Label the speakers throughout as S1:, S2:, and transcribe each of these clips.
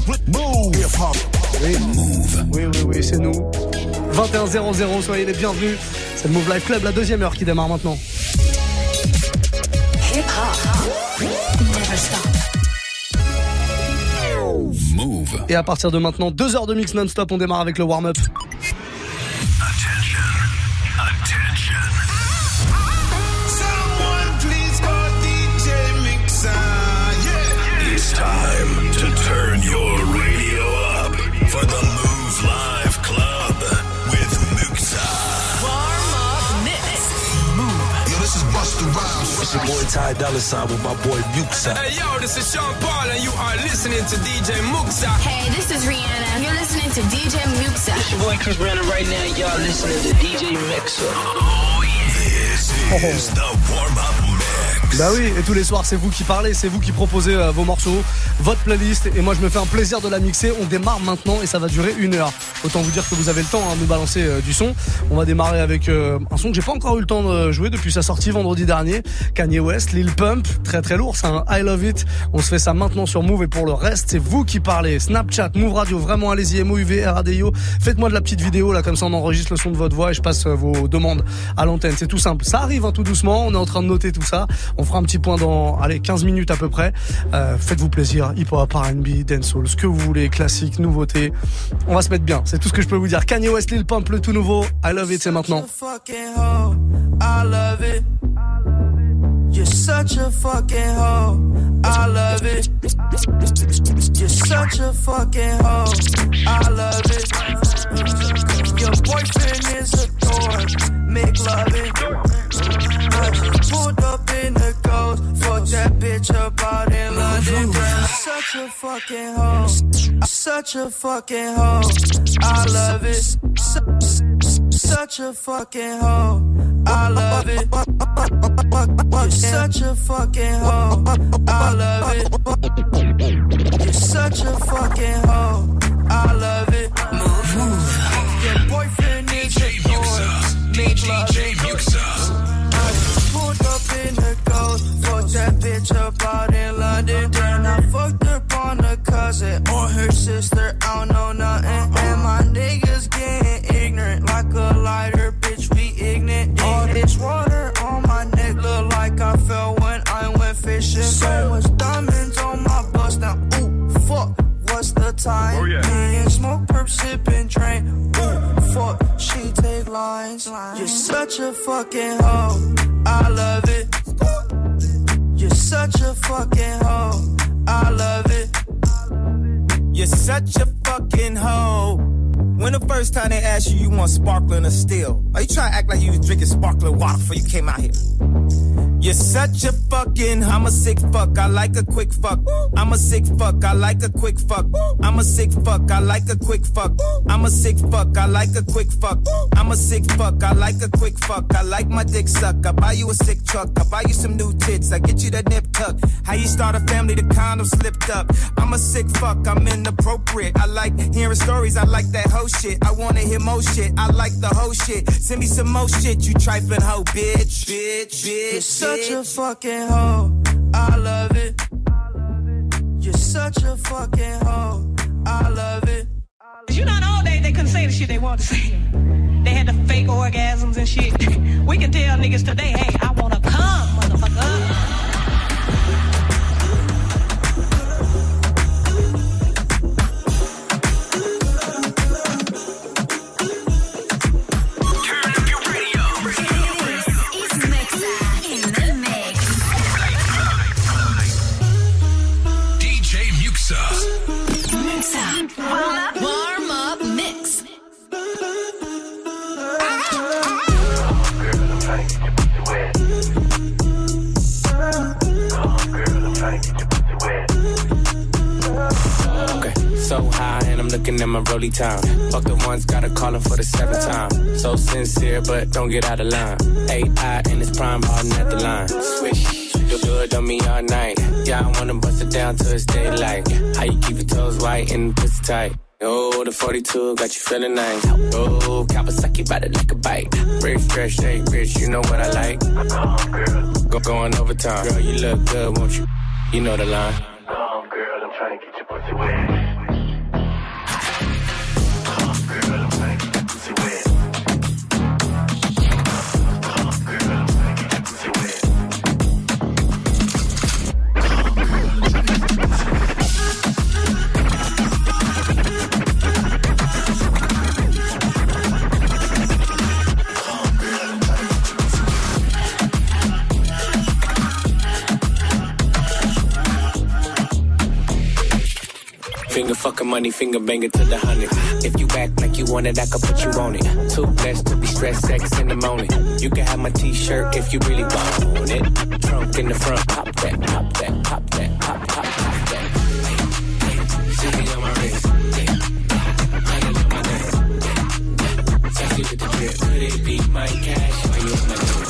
S1: Move.
S2: Oui, c'est nous. 21-0-0, soyez les bienvenus. C'est le Move Life Club, la deuxième heure qui démarre maintenant.
S1: Move.
S2: Et à partir de maintenant, 2 heures de mix non-stop, on démarre avec le warm-up.
S3: Attention. Someone please call DJ Muxa. Yeah. It's time to turn your radio up for the Move Live Club with Muxa.
S4: Warm-up mix.
S3: Move. Yo, this is Busta Rhymes.
S5: It's your boy Ty Dolla $ign with my boy Muxa.
S6: Hey yo, this is Sean Paul and you are listening to DJ Muxa.
S7: Hey, this is Rihanna. You're listening to DJ Muxa.
S8: It's your boy Chris Brandon right now. Y'all listening to DJ Muxa.
S3: Oh yeah. This is the warm-up mix.
S2: Bah oui, et tous les soirs c'est vous qui parlez, c'est vous qui proposez vos morceaux, votre playlist, et moi je me fais un plaisir de la mixer. On démarre maintenant et ça va durer 1 heure. Autant vous dire que vous avez le temps de nous balancer du son. On va démarrer avec un son que j'ai pas encore eu le temps de jouer depuis sa sortie vendredi dernier. Kanye West, Lil Pump, très très lourd, c'est un I Love It. On se fait ça maintenant sur Move et pour le reste c'est vous qui parlez. Snapchat, Move Radio, vraiment allez-y, MOUV, RADIO. Faites-moi de la petite vidéo là, comme ça on enregistre le son de votre voix et je passe vos demandes à l'antenne. C'est tout simple, ça arrive tout doucement, on est en train de noter tout ça. On fera un petit point dans 15 minutes à peu près. Faites-vous plaisir, hip-hop, R&B, dancehall, ce que vous voulez, classique, nouveauté. On va se mettre bien, c'est tout ce que je peux vous dire. Kanye West, Lil Pump, le tout nouveau I Love It, c'est maintenant.
S9: I love it. You're such a fucking hoe. I love it. You're such a fucking hoe. I love it. Your boyfriend is a dork. Make love it. I just pulled up in the ghost. Fuck that bitch up out in London. You're such a fucking hoe. Such a fucking hoe. I love it. Such a fucking hoe. I love it. You're such a fucking hoe. I love it. You're such a fucking hoe. I love it. Move. Your boyfriend is a dork. Make love it. I just pulled up in the ghost. Fuck that bitch up out in London. Then I fucked up on a cousin or her sister. I don't know nothing. And my niggas getting ignorant like a lighter. Bitch, we ignorant. All this water on my neck look like I fell when I went fishing. So much diamonds on my bust now. Ooh, fuck. What's the time?
S3: Oh, yeah.
S9: Me and smoke, perp, sip, and drain. Ooh, fuck, she take lines. You're such a fucking hoe. I love it. You're such a fucking hoe. I love it.
S6: You're such a fucking hoe. When the first time they asked you want sparkling or still? Are you trying to act like you was drinking sparkling water before you came out here? You're such a fucking, I'm a sick fuck, I like a quick fuck. I'm a sick fuck, I like a quick fuck. I'm a sick fuck, I like a quick fuck. I'm a sick fuck, I like a quick fuck. I'm a sick fuck, I like a quick fuck. I like my dick suck, I buy you a sick truck. I buy you some new tits, I get you that nip tuck. How you start a family, the condom slipped up. I'm a sick fuck, I'm inappropriate. I like hearing stories, I like that hoe shit. I wanna hear more shit, I like the hoe shit. Send me some more shit, you trifling hoe, bitch.
S9: You're such a fucking hoe. I love it. You're such a fucking hoe. I love it.
S10: You know, all day they couldn't say the shit they wanted to say. They had the fake orgasms and shit. We can tell niggas today, hey, I wanna come, motherfucker.
S4: Warm up mix.
S5: Okay, so high and I'm looking at my rollie time. Fuck the ones, gotta call him for the 7th time. So sincere, but don't get out of line. AI and it's prime balling at the line. Swish, you do it on me all night. Yeah, I wanna bust it down till it's daylight. How you keep your toes white and pussy tight? Oh, the 42 got you feeling nice. Oh, Kawasaki ride it like a bike. Rich, fresh, shake, rich, you know what I like. Going overtime. Girl, you look good, won't you? You know the line.
S3: Girl, I'm trying to get your pussy wet.
S5: Finger fucking money, finger banging to the hundreds. If you act like you want it, I can put you on it. Too blessed to be stressed, sex in the morning. You can have my t-shirt if you really want it. Trunk in the front, pop that, pop that, pop that, pop, pop, pop that. See me on my wrist. Honey on my neck. Sexy with the drip. Could it be my cash or you my drip?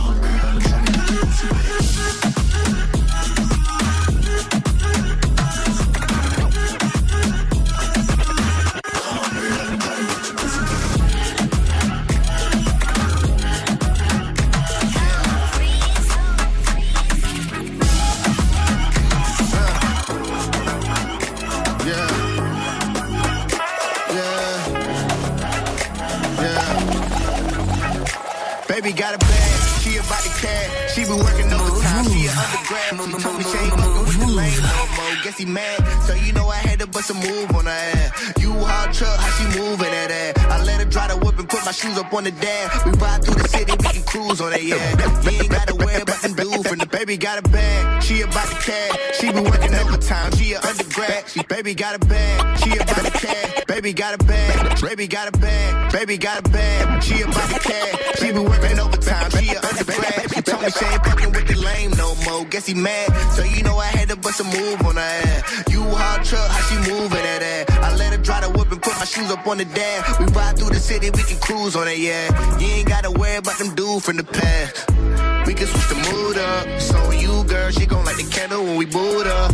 S1: Baby got a bag, she about to cash. She been working overtime, she an undergrad. She told me she ain't fucking with the lame no more. Guess he mad, so you know I had to bust a move on her ass. You hard truck, how she moving that ass. I let her dry the whip and put my shoes up on the dash. We ride through the city, we can cruise on that, yeah. You ain't gotta worry about them dudes from the baby got a bag, she about to cash. She been working overtime, she an undergrad. She baby got a bag, she about to cash. Baby got a bag, baby got a bag, baby got a bag. She about to cash, she been working overtime, she an undergrad. She told me she ain't fucking with the lame no more. Guess he mad, so you know I had to bust a move on her ass. You hard truck, how she moving that ass. I let her dry the whip and put my shoes up on the dash. We ride through the city, we can cruise on it, yeah. You ain't gotta worry about them dudes from the past. We can switch the mood up. So you, girl, she gon' light the candle when we boot up.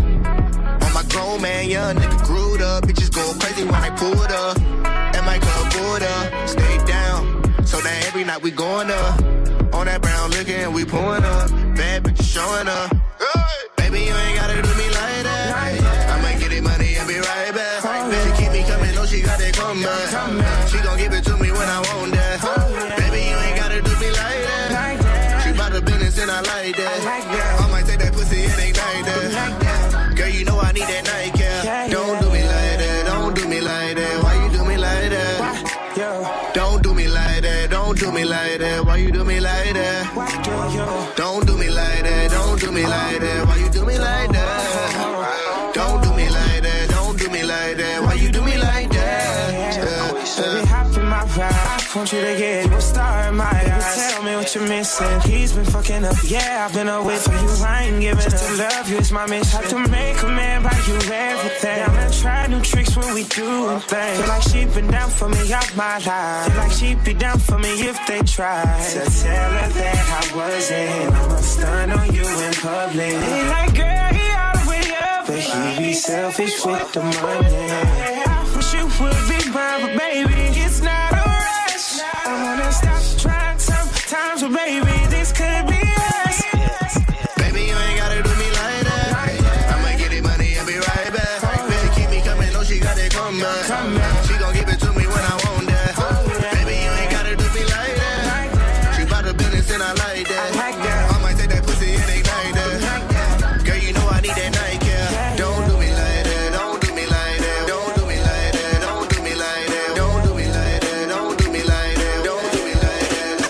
S1: On my grown man, young nigga grewed up. Bitches going crazy when I pulled up. At my club, board up, stay down. So now every night we going up. On that brown liquor and we pouring up. Bad bitches showing up. Baby, you ain't gotta do me like that. I might get it money and be right back. She keep me coming, know she got that come back. She gon' give it to me when I want that. Baby, you ain't gotta do me like that. She bout the business and I like that. I might take that pussy and ignite that. Girl, you know I need that night, yeah. Don't do me like that, don't do me like that. Why you do me like that? Don't do me like that, don't do me like that. Why you do me like that? Don't do me like that, don't do me like that. Why you do me like that? Don't do me like that, don't do me like that. Why you do me like that?
S9: Baby, hop in my ride. I want you to get you a star in my eyes. Tell me what you're missing. He's been fucking up, yeah, I've been away from you. I ain't giving up. To love you is my mission. Have to make a man buy you everything. I'm gonna try new tricks when we do things. Feel like she been down for me all my life. Feel like she'd be down for me if they tried. So tell her that I wasn't. I'ma stun on you in public. He like, girl, he all the way up, but he be selfish with the money. I wish you would be mine, but baby, it's not a rush. I wanna stop trying sometimes, but baby, this could be us.
S1: Baby, you ain't gotta do me like that. I might get it money and be right back. Baby, keep me coming, know she got that come back. She gon' give it to me when I want that. Baby, you ain't gotta do me like that. She bout the business and I like that. I might take that pussy and ignite that. Girl, you know I need that night, yeah. Don't do me like that, don't do me like that. Don't do me like that, don't do me like that. Don't do me like that, don't do me like that. Don't do me like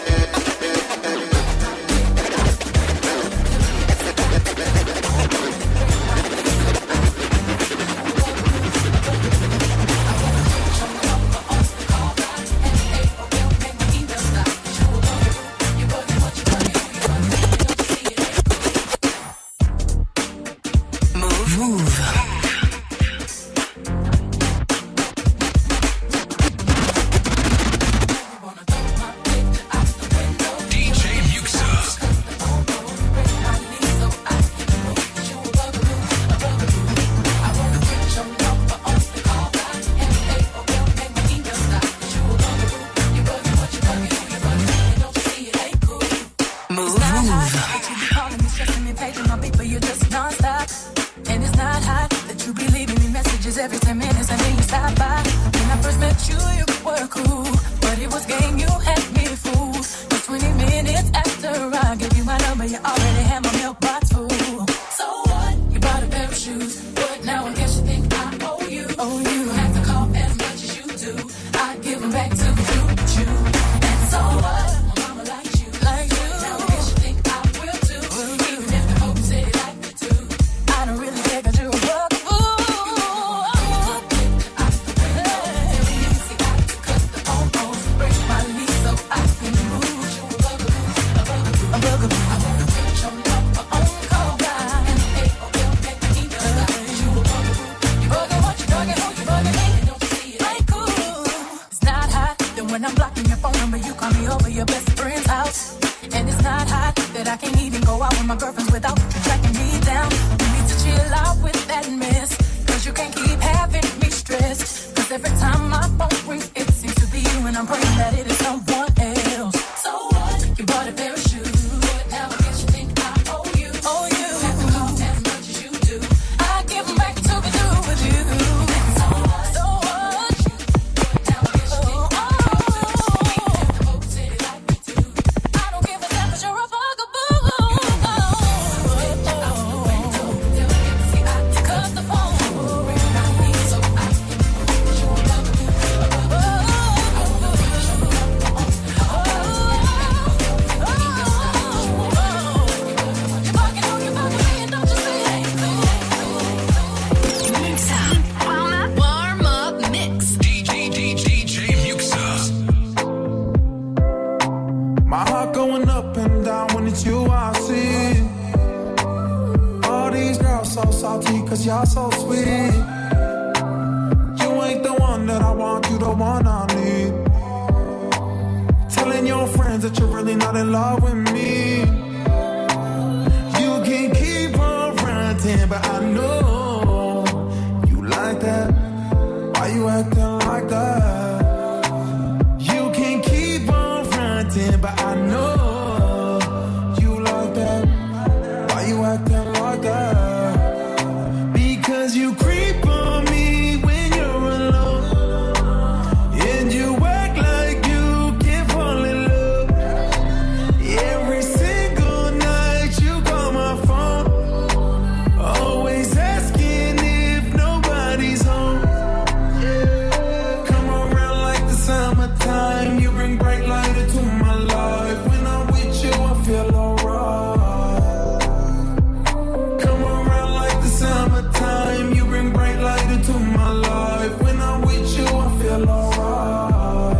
S11: every 10 minutes and then you stop by. When I first met you, you were cool, but it was game, you had me fooled. Just 20 minutes after I gave you my number, you already had my mailbox full. So what? You bought a pair of shoes, but now I guess you think I owe you. Oh, you have to call as much as you do. I give them back to you. And so what? My mama likes you, like you. Now I guess you think I will too. Even if the folks say they like me too. I don't really care 'cause you're a bug. Ooh. When I'm blocking your phone number, you call me over your best friend's house. And it's not hot that I can't even go out with my girlfriends without tracking me down. You need to chill out with that mess, cause you can't keep having me stressed. Cause every time my phone rings, it seems to be you, and I'm praying that it is someone else. So what? You bought a pair of shoes. What now? I guess you think I owe you. Oh, you. As much as you do. I give them back to be through with you. So what? So what? What now? I guess you think I owe you. I don't give a damn 'cause you're a bugaboo. Cut the phone. So I can show love to
S4: Warm up mix.
S3: DJ Muxa.
S9: My heart going up and down when it's you I see. All these girls so salty cause y'all so sweet. You ain't the one that I want, you the one I need. Telling your friends that you're really not in love with me. You can keep on fronting, but I know you like that. Why you acting like that? You can keep on fronting, but I know you like that. Why you acting like that? Because you creep on me when you're alone, and you act like you can't fall in love. Every single night you call my phone, always asking if nobody's home. Come around like the summertime, you bring bright light into my life. When I'm with you, I feel alright. Come around like the summertime, you bring bright light into my life. When I'm with you, I feel alright.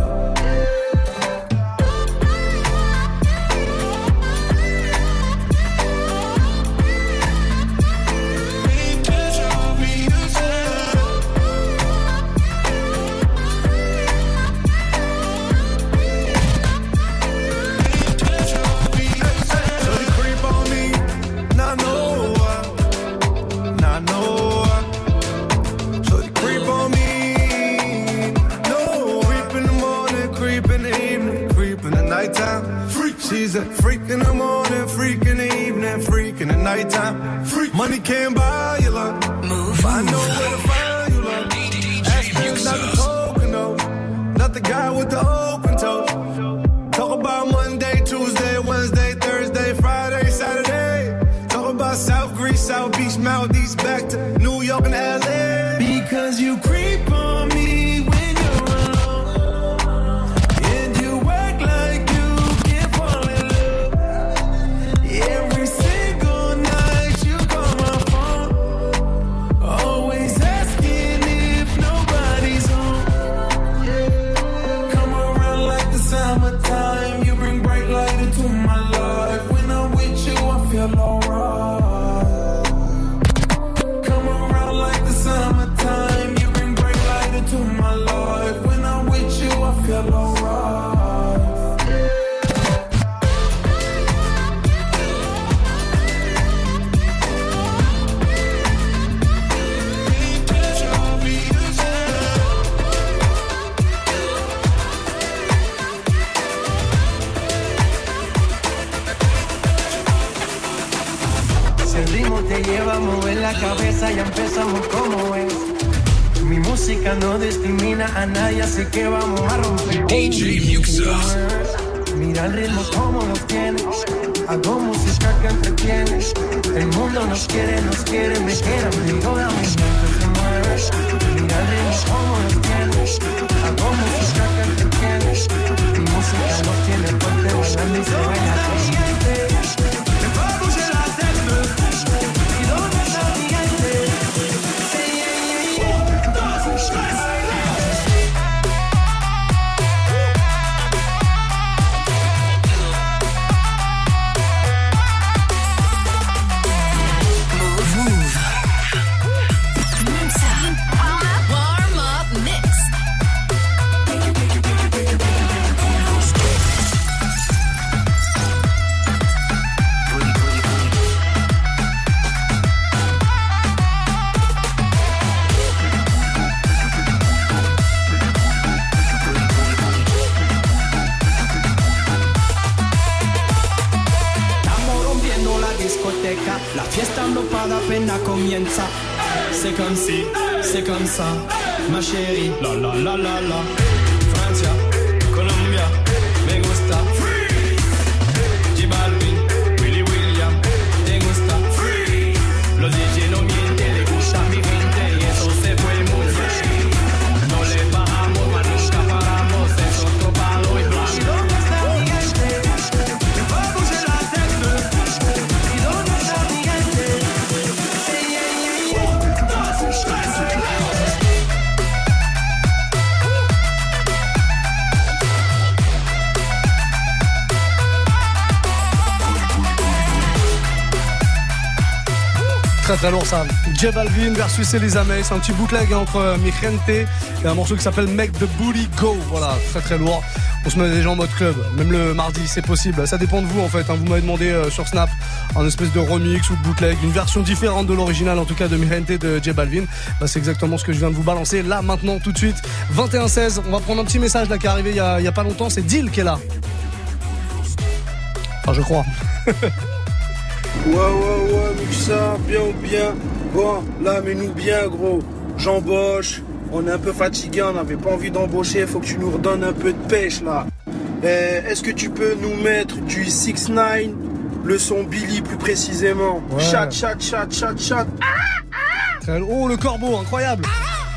S9: Shorty creep on me, not know why, not know why. Shorty creep on me, no. Creep in the morning, creep in the evening, creep in the nighttime. Freak, she's a freak in the morning, freak in the evening, freak in the nighttime. Freak, money can't buy you love. Move, I know where to find you love. Ask not the coconut, not the guy with the open toe. Talk about Monday, Tuesday, Wednesday, Thursday, Friday, Saturday. Talk about South Greece, South Beach, Maldives, back to New York and LA. Because you creep on me when you're alone, and you act like you can't fall in love. Every single night you call my phone, always asking if nobody's home. Come around like the summertime, you bring bright light into my life. When I'm with you, I feel alright. Come around like the summertime, you bring bright light into my life. When I'm with you, I feel alright.
S12: Si el ritmo te lleva a mover la cabeza, ya empezamos como es. Mi música no discrimina a nadie, así que vamos a romper.
S3: DJ Muxa.
S12: Mira el ritmo como lo tienes. Hago música que entretiene. El mundo nos quiere, me quiere. Toda mi mente se mueve. Mira el ritmo como lo tienes. Hago música que entretiene. Mi música nos tiene fuerte, bailando y se baila caliente. Me va a bouger la tête. Y donde está mi gente.
S13: fiesta comienza. C'est comme si, c'est comme ça, ma chérie. La la la la la. Francia, Colombia, me gusta. J Balvin, Willy William, te gusta. Los DJ no mienten, le gusta mi gente y eso se fue muy bien. No le bajamos, mas nunca paramos, es otro palo y blanco. ¿Y dónde está mi gente? Vamos a la tecla. ¿Y dónde está mi gente?
S2: Très très lourd ça. J Balvin versus Elisa May. C'est un petit bootleg entre Mi Gente et un morceau qui s'appelle Make the Booty Go. Voilà, très très lourd. On se met déjà en mode club, même le mardi, c'est possible. Ça dépend de vous en fait. Vous m'avez demandé sur Snap un espèce de remix ou de bootleg, une version différente de l'original, en tout cas de Mi Gente de J Balvin. C'est exactement ce que je viens de vous balancer là maintenant tout de suite. 21-16. On va prendre un petit message là qui est arrivé il y a pas longtemps. C'est Dil qui est là. Enfin, je crois.
S14: Ouais, Muxa, bien ou bien. Bon, là, mets-nous bien, gros. J'embauche. On est un peu fatigué, on n'avait pas envie d'embaucher. Faut que tu nous redonnes un peu de pêche, là. Est-ce que tu peux nous mettre du 6ix9ine, le son Billy plus précisément? Ouais. Chat.
S2: Oh, le corbeau, incroyable.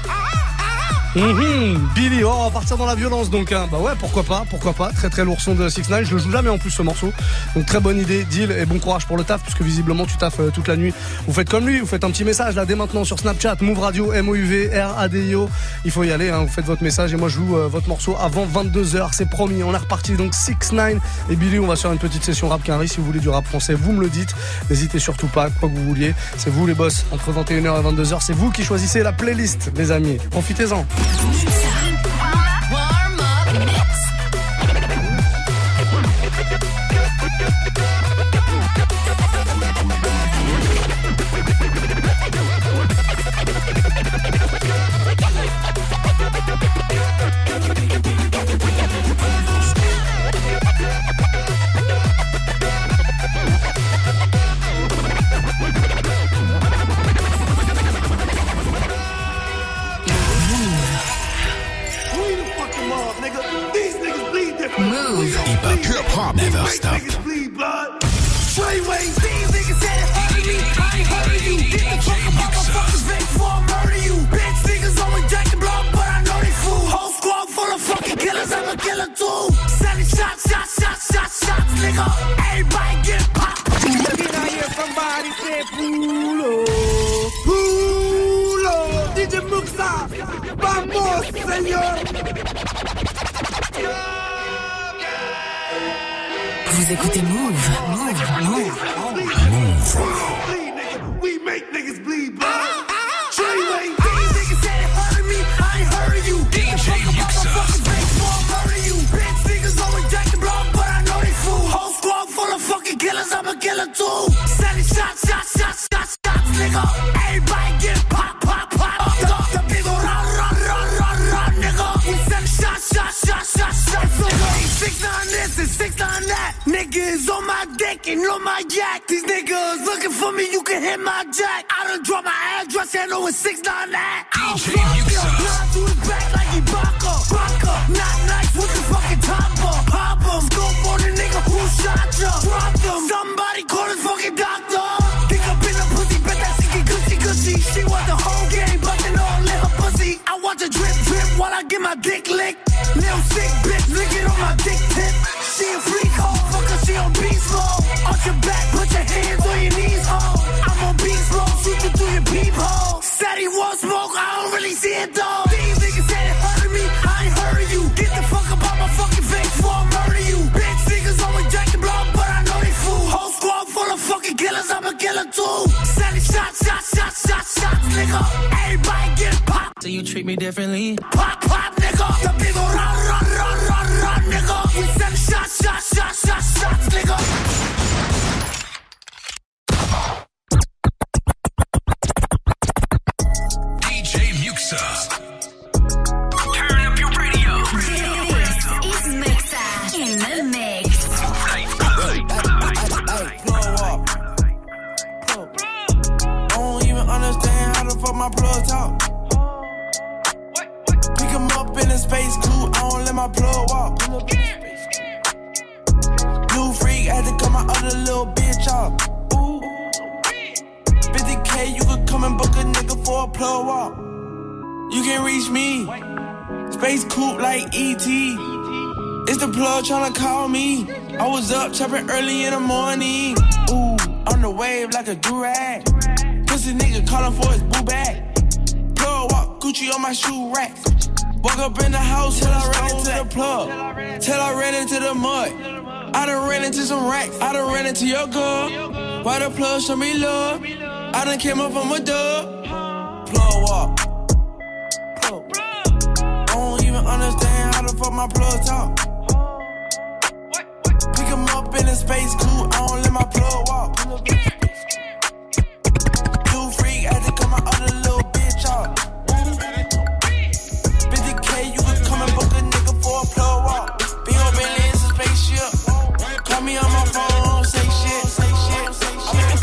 S2: Billy, on va partir dans la violence donc hein. Bah ouais, pourquoi pas, très très lourd son de 6ix9ine, je le joue jamais en plus ce morceau. Donc très bonne idée, deal et bon courage pour le taf puisque visiblement tu taffes toute la nuit. Vous faites comme lui, vous faites un petit message là dès maintenant sur Snapchat, Move Radio, MOUVRADIO. Il faut y aller hein, vous faites votre message et moi je joue votre morceau avant 22h, c'est promis. On est reparti donc 6ix9ine et Billy, on va faire une petite session rap quinri. Si vous voulez du rap français, vous me le dites. N'hésitez surtout pas, quoi que vous vouliez. C'est vous les boss, entre 21h et 22h, c'est vous qui choisissez la playlist les amis. Profitez-en.
S3: Hip-hop never stop.
S9: Freeway, these niggas said it hurt me. I ain't heard of you. Get the fuck up out my fucking face before I murder you. Bitch niggas always jacking blood, but I know they fool. Whole squad full of fucking killers, I'm a killer too. Sending shots, nigga. Everybody get popped.
S14: Can I hear somebody say Pulo? DJ Muxa, vamos, señor.
S11: Vous écoutez Move.
S9: We make niggas bleed, bro. Treyway, these niggas said it hurt me. I ain't heard of you. Get the fuck up out my fucking face before I murder you. Bitch niggas always jacking blood, but I know they fool. Whole squad full of fucking killers, I'm a killer too. Sending shots, nigga. Everybody get pop. The big ol' run, nigga. We sending shots. It's okay. 6ix9ine this and 6ix9ine that. Niggas on my dick and on my yak. These niggas looking for me, you can hit my jack. I done dropped my address and know it's 6ix9ine that. I'll fuck you, line to his back like Ibaka. Not nice with the fucking topper. Pop him, scope on the nigga who shot ya. Drop them, somebody call his fucking doctor. Think up in a pussy, bet that she get gushy. She want the whole game, but they all in her pussy. I watch her drip while I get my dick licked. Little sick bitch, lick it on my dick tip. She a freak hoe, fucker, she on beast mode. Arch your back, put your hands on your knees, ho. I'm on beast mode, shoot you through your peephole. Said he won't smoke, I don't really see it though. These niggas said it hurt me, I ain't heard of you. Get the fuck up out my fucking face before I murder you. Bitch niggas always jacking blood, but I know they fool. Whole squad full of fucking killers, I'm a killer too. Sending shots, nigga. Everybody get popped.
S13: So you treat me differently?
S9: Pop, nigga. The big ol' run, nigga. We send shots, nigga.
S3: DJ Muxa. Turn up your radio.
S7: This is Muxa in the mix.
S9: I don't even my plug talk. Pick him up in a space coupe, I don't let my plug walk. New freak, had to cut my other little bitch off. Ooh. 50K, you could come and book a nigga for a plug walk. You can reach me, space coupe like E.T. It's the plug tryna call me. I was up chopping early in the morning. Ooh, on the wave like a do-rag. Pussy nigga calling for his boo bag. Plug walk, Gucci on my shoe rack. Woke up in the house till I ran into the plug. Till I ran into the mud. I done ran into some racks. I done ran into your girl. Why the plug show me love? I done came up from a dub. Plug walk. I don't even understand how the fuck my plug talk. Pick him up in a space coupe, I don't let my plug walk. New freak, had to cut my other little bitch off. 50K, you could come and book a nigga for a plug walk. Be on Bentley, it's a spaceship. Call me on my phone, say shit, say shit, say shit.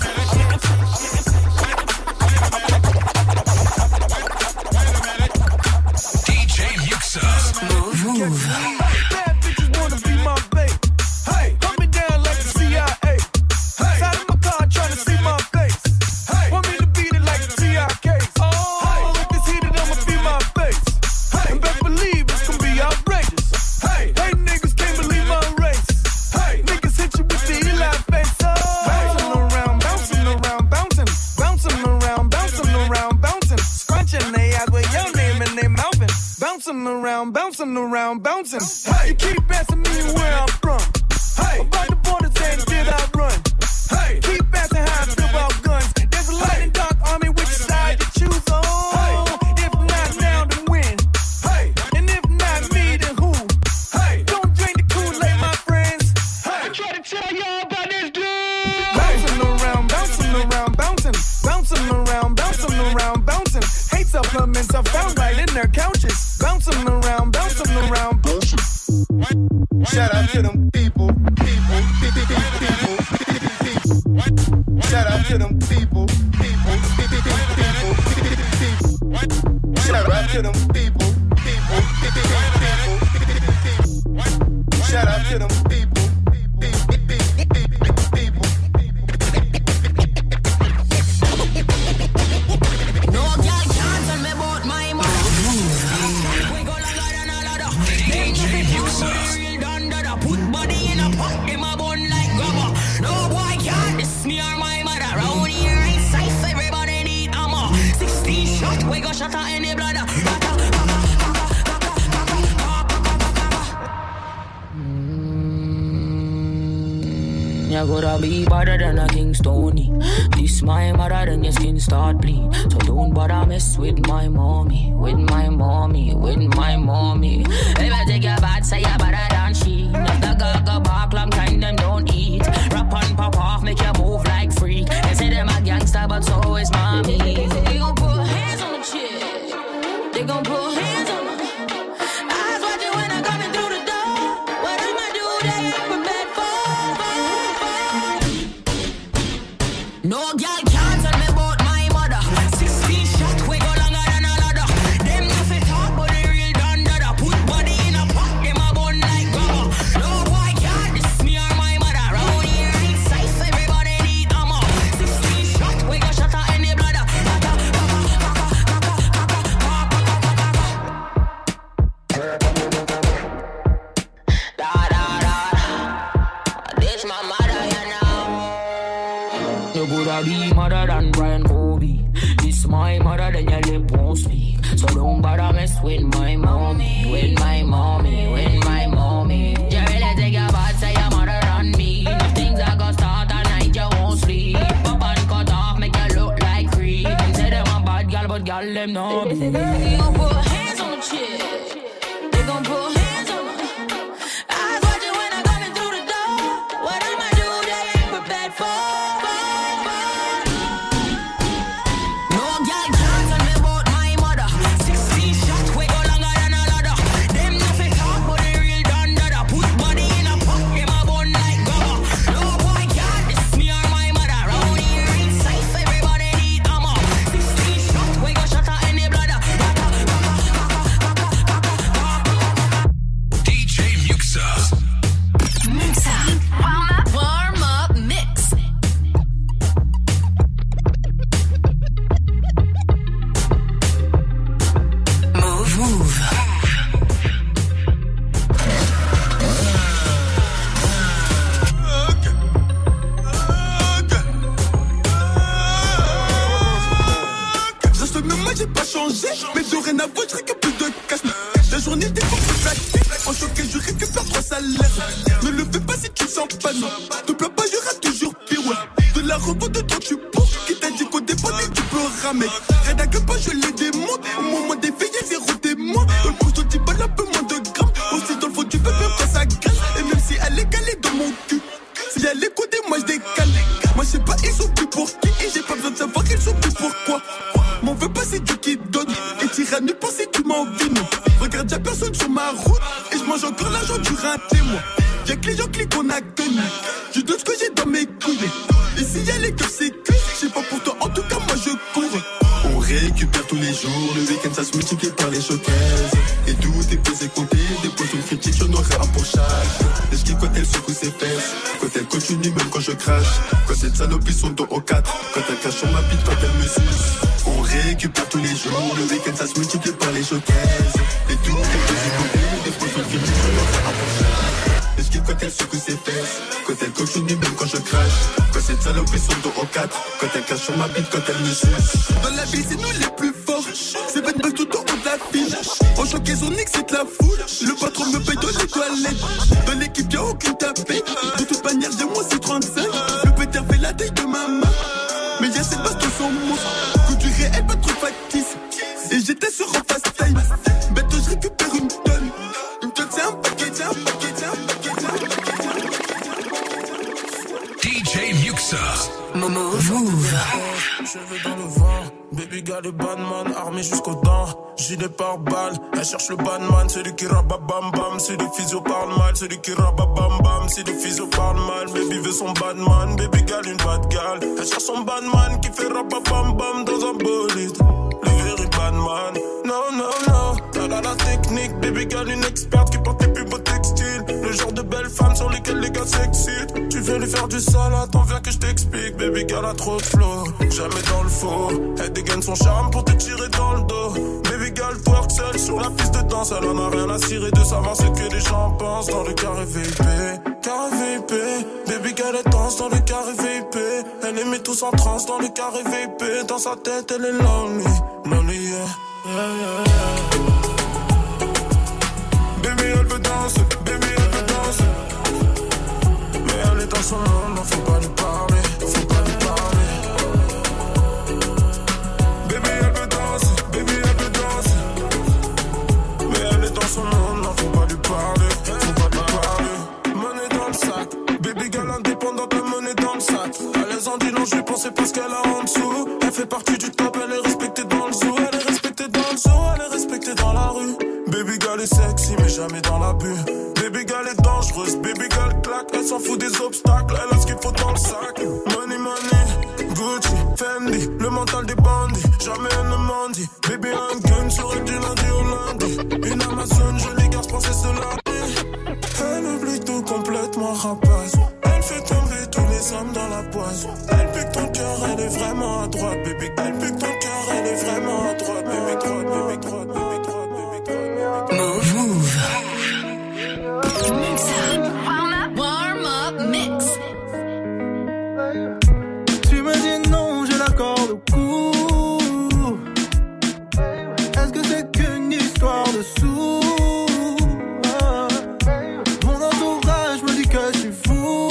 S3: DJ Muxa.
S9: Move. Bad bitches wanna be my babe. Hey, hold me down like the CIA. Hey, side of my car trying to see my face. Hey, want me to beat it like the TIKs. Oh, hey, if it's heated, I'ma be my face. Hey, and best believe it's gonna be outrageous. Hey, niggas can't believe my race. Hey, niggas hit you with the Eli face. Oh, bouncing around, bouncing around, bouncing, bouncing around, bouncing around, bouncing, scrunching they eyes with your name and they mouthing. Bouncing around, bouncing around, bouncing. Hey, you keep asking me where I'm from. Hey, about the borders and did I run? Hey, keep asking how I feel about guns. There's a light and dark army, which side you choose on? Hey, if not now, then when? Hey, and if not me, then who? Hey, don't drink the Kool-Aid, my friends. Hey, I try to tell y'all about this dude. Bouncing around, bouncing around, bouncing, bouncing around, bouncing around, bouncing. Hate supplements are found right in their couches. Bouncing around, bouncing around, bouncing. Shout out to them people. Shout out to them people. Shout out to them people. Shout out to them people.
S15: No girl can't tell me about my mother. We go longer than a ladder. DJ Muxa. Put body in a pot, them a bun like grabber. No boy can't diss me or my mother. Round here ain't safe, everybody need ammo. 16 shot, we go shot at any bladder. You gotta be better than a King Stony. This my mother, then your skin start bleed. So don't bother mess with my mommy, with my mommy, with my mommy. If I take your bad, say you better than she. If the gaga bark long time, them don't eat. Rap and pop off, make you move like freak. They say them a gangster, but so is mommy. They gon' put hands on the chick. They gon' put hands on the eyes watching when I'm coming through the door. What I'ma do, they ain't prepared for. No girl can't tell me about my mother. 16 shot, we go longer than a ladder. Them nothing talk, but they real done dada. Put body in a pot, them a bun like grabber. No boy can't diss me or my mother. Round here ain't safe, everybody need ammo. 16 shot, we go shot at any bladder. This my mother, you know. You coulda be mother than Brian Kobe. This my mother, then your lip won't speak. So don't bother mess with my mommy, with my mommy, with my mommy. You really take your bad, say your mother than me. If things are gonna start at night, you won't sleep. Pop and cut off, make you look like creep. Them say them a bad girl, but girl them know me. They gon' put hands on the chick. They gon' put hands on the eyes watching when I'm coming through the door. What I'ma do, they ain't prepared for. No girl can't tell me about my mother. 16 shot, we go longer than a ladder. Them nothing talk, but they real done dada. Put body in a pot, them a bun like grabber. No boy can't diss me or my mother. Round here ain't safe, everybody need ammo. 16 shot, we go shot
S16: Dorénavant, je récupère plus de cash. La journée des cours de actifs. En choqué, je récupère 3 salaires. Ne le fais pas si tu sens pas, non. Te plains pas, il y aura toujours pire, ouais. De la revente de toi, tu pour. Qui t'a dit qu'au départ, tu peux ramer. Rien à que pas, je les démonte. Au moment des filles, y'a 0 témoin. Dans le poste, tu balles un peu moins de grammes. Aussi dans le fond, tu peux même quand ça graisse. Et même si elle est calée dans mon cul. Si elle est codée, moi je décale. Moi je sais pas, ils sont plus pour qui. Et j'ai pas besoin de savoir, ils sont plus pourquoi. M'en veux pas, c'est Dieu qui donne. Et t'iras nulle part si tu m'envines. Regarde, y'a personne sur ma route. Et je mange encore l'argent du raté, moi. Y'a que les gens cliquent, on a connu. Je donne ce que j'ai dans mes couilles. Et si y'a les gueules, c'est que je sais pas pour toi, en tout cas, moi je cours. On récupère tous les jours. Le week-end, ça se multiplie par les showcases. Et tout est pesé, compté. Des poissons critiques, j'en aurai un pour chaque. Et je kiffe quand elle secoue ses fesses. Quand elle continue, même quand je crache. Quand cette salope, ils sont dos au 4. Quand elle cache sur ma bite, quand elle me suce. On récupère tous les jours. Le week-end, ça se multiplie par les showcases. Et tout est pesé, compté. Des poissons critiques, j'en aurai un pour chaque. Et je kiffe quand elle secoue ses fesses. Quand elle continue, même quand je crache. Quand cette salope, ils sont dos au 4. Quand elle cache sur ma bite, quand elle me suce. Dans la vie, c'est nous les plus forts. C'est pas de bug tout en haut de la file. En choqué, Sonic, c'est de la foule. Le patron me paye dans les toilettes. Dans l'équipe, y'a aucune tapée. De toute manière, j'ai moins c'est 35. Le péter fait la taille de ma main. Mais y'a cette baston sans mots. Coup du réel, pas trop factice. Et j'étais sur un fast time. Bête, je récupère une tonne. Une tonne, c'est un paquet, c'est un paquet, c'est un paquet, c'est un paquet.
S3: DJ Muxa.
S17: Move. Cheveux dans le vent, baby got le badman, armé jusqu'aux dents, gilet par balle, elle cherche le badman, celui qui rababam bam, si le physio parle mal, celui qui rababam bam, si le physio parle mal, baby veut son badman, baby gal une bad gal, elle cherche son badman qui fait rababam bam dans un bolide, le very badman, no, t'as la technique, baby gal une experte qui porte les plus beaux textiles, le genre de belle femme sur lesquelles les gars s'excitent, tu veux lui faire du sale, attends viens que je t'explique, baby gal a trop de flow, jamais dans le faux, elle dégaine son charme pour te tirer dans le dos, baby gal twerk seule sur la piste de danse, elle en a rien à cirer de savoir ce que les gens pensent dans le carré VIP, baby gal elle danse dans le carré VIP, elle les met tous en transe dans le carré VIP, dans sa tête elle est lonely, yeah. Baby elle veut danser, mais elle est dans son monde, non faut pas lui parler, Baby elle veut danser, mais elle est dans son monde, non faut pas lui parler, monnaie dans le sac, baby girl indépendante, la monnaie dans le sac, à l'aise en dit non je lui pensais parce qu'elle a en dessous, elle fait partie du top, elle est respectée dans le zoo, elle est respectée dans la rue, baby girl est sexy mais jamais dans l'abus, baby girl est dangereuse, baby girl claque, elle s'en fout des obstacles, elle a ce qu'il faut dans le sac, money, Gucci, Fendi, le mental des bandits, jamais elle ne mendie, baby un gun sur elle du lundi au lundi, une Amazon, jolie garce princesse de la nuit, elle oublie tout complètement rapace, elle fait tomber tous les hommes dans la poisse, elle pique ton cœur, elle est vraiment à droite, baby, elle pique ton cœur, elle est vraiment à droite, baby, droite. Move.
S4: Warm up mix.
S9: Tu me dis non, j'ai la corde au cou. Est-ce que c'est qu'une histoire de sous? Mon entourage me dit que je suis fou.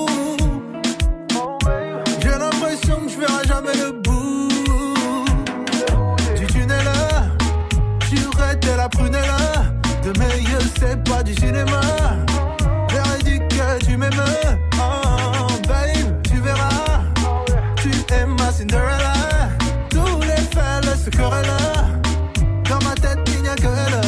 S9: J'ai l'impression que je verrai jamais le bout du tunnel. J'aurais été la prunelle de mes yeux, c'est pas du cinéma. J'aurais dit que tu m'aimes. Oh babe, tu verras. Tu es ma Cinderella. Tous les fellas se querellent. Dans ma tête il n'y a que elle.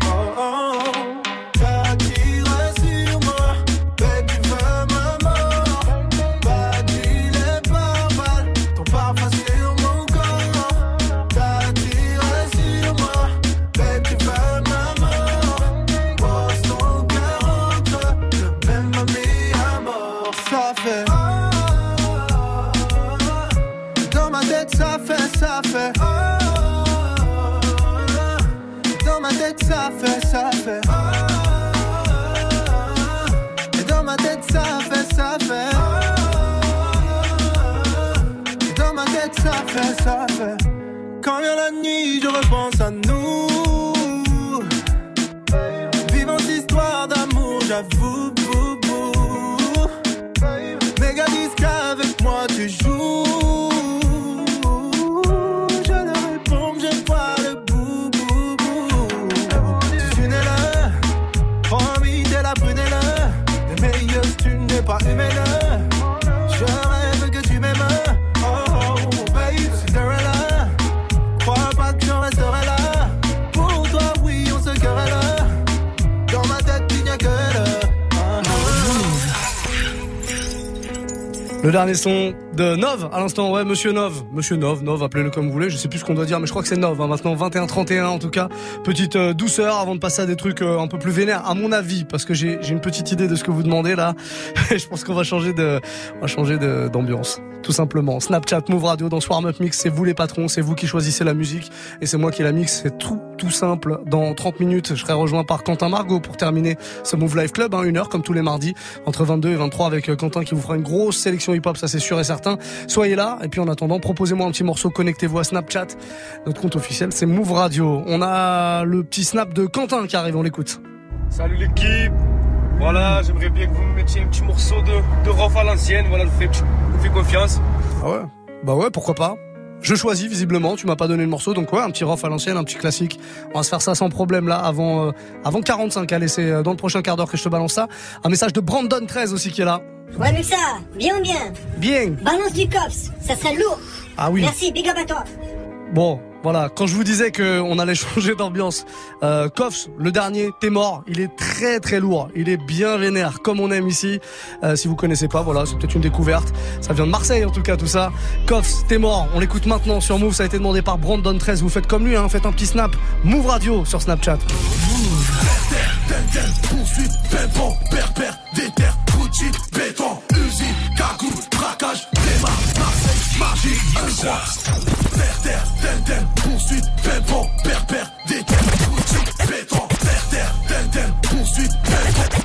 S9: T'attires sur moi, baby veux ma mort. Badil et barbare, ton parfum sur mon corps. T'attires sur moi, baby tu veux ma mort. Pose ton cœur entre le même ami à mort. Ça fait dans ma tête ça fait dans ma tête ça fait et dans ma tête ça fait dans ma tête ça fait Quand vient la nuit, je repense à nous. Vivant cette histoire d'amour, j'avoue. Méga disque avec moi, tu joues. Je leur réponds, j'aime pas le bout. Tu n'es là, promis, t'es la prunelle. Des meilleurs, tu n'es pas humaine. Je rêve que tu m'aimes.
S2: Le dernier son de Nov à l'instant, ouais, Monsieur Nov, appelez-le comme vous voulez, je sais plus ce qu'on doit dire, mais je crois que c'est Nov, hein, maintenant 21-31 en tout cas. Petite douceur avant de passer à des trucs un peu plus vénères, à mon avis, parce que j'ai une petite idée de ce que vous demandez là, et je pense qu'on va changer d'ambiance. Tout simplement. Snapchat, Move Radio dans Warm Up Mix, c'est vous les patrons, c'est vous qui choisissez la musique et c'est moi qui la mixe, c'est tout simple. Dans 30 minutes, je serai rejoint par Quentin Margot pour terminer ce Move Live Club, hein, 1 heure comme tous les mardis, entre 22 et 23 avec Quentin qui vous fera une grosse sélection hip-hop, ça c'est sûr et certain. Soyez là et puis en attendant, proposez-moi un petit morceau, connectez-vous à Snapchat. Notre compte officiel, c'est Move Radio. On a le petit snap de Quentin qui arrive, on l'écoute.
S18: Salut l'équipe. Voilà, j'aimerais bien que vous me mettiez un petit morceau de rough à l'ancienne. Voilà, je vous fais confiance.
S2: Ah ouais? Bah ouais, pourquoi pas? Je choisis visiblement, tu m'as pas donné le morceau, donc ouais, un petit rough à l'ancienne, un petit classique. On va se faire ça sans problème là, avant 45. Allez, c'est dans le prochain quart d'heure que je te balance ça. Un message de Brandon 13 aussi qui est là.
S19: Ouais, Muxa, bien ou bien?
S2: Bien.
S19: Balance du cops, ça serait lourd.
S2: Ah oui.
S19: Merci, big up à toi.
S2: Bon, voilà, quand je vous disais qu'on allait changer d'ambiance, Koffs, le dernier, T'es mort, il est très très lourd, il est bien vénère, comme on aime ici. Si vous connaissez pas, voilà, c'est peut-être une découverte. Ça vient de Marseille en tout cas, tout ça. Koffs, T'es mort, on l'écoute maintenant sur Move, ça a été demandé par Brandon 13. Vous faites comme lui, hein, faites un petit snap. Move Radio sur Snapchat.
S16: Move. Poursuite, pépon, perpère, déterre, Gucci, béton, usine, cagoule, braquage, démarre, Marseille, magie, terre, poursuite, pépon, perpère, déterre, Gucci, béton, terre, poursuite, pépon,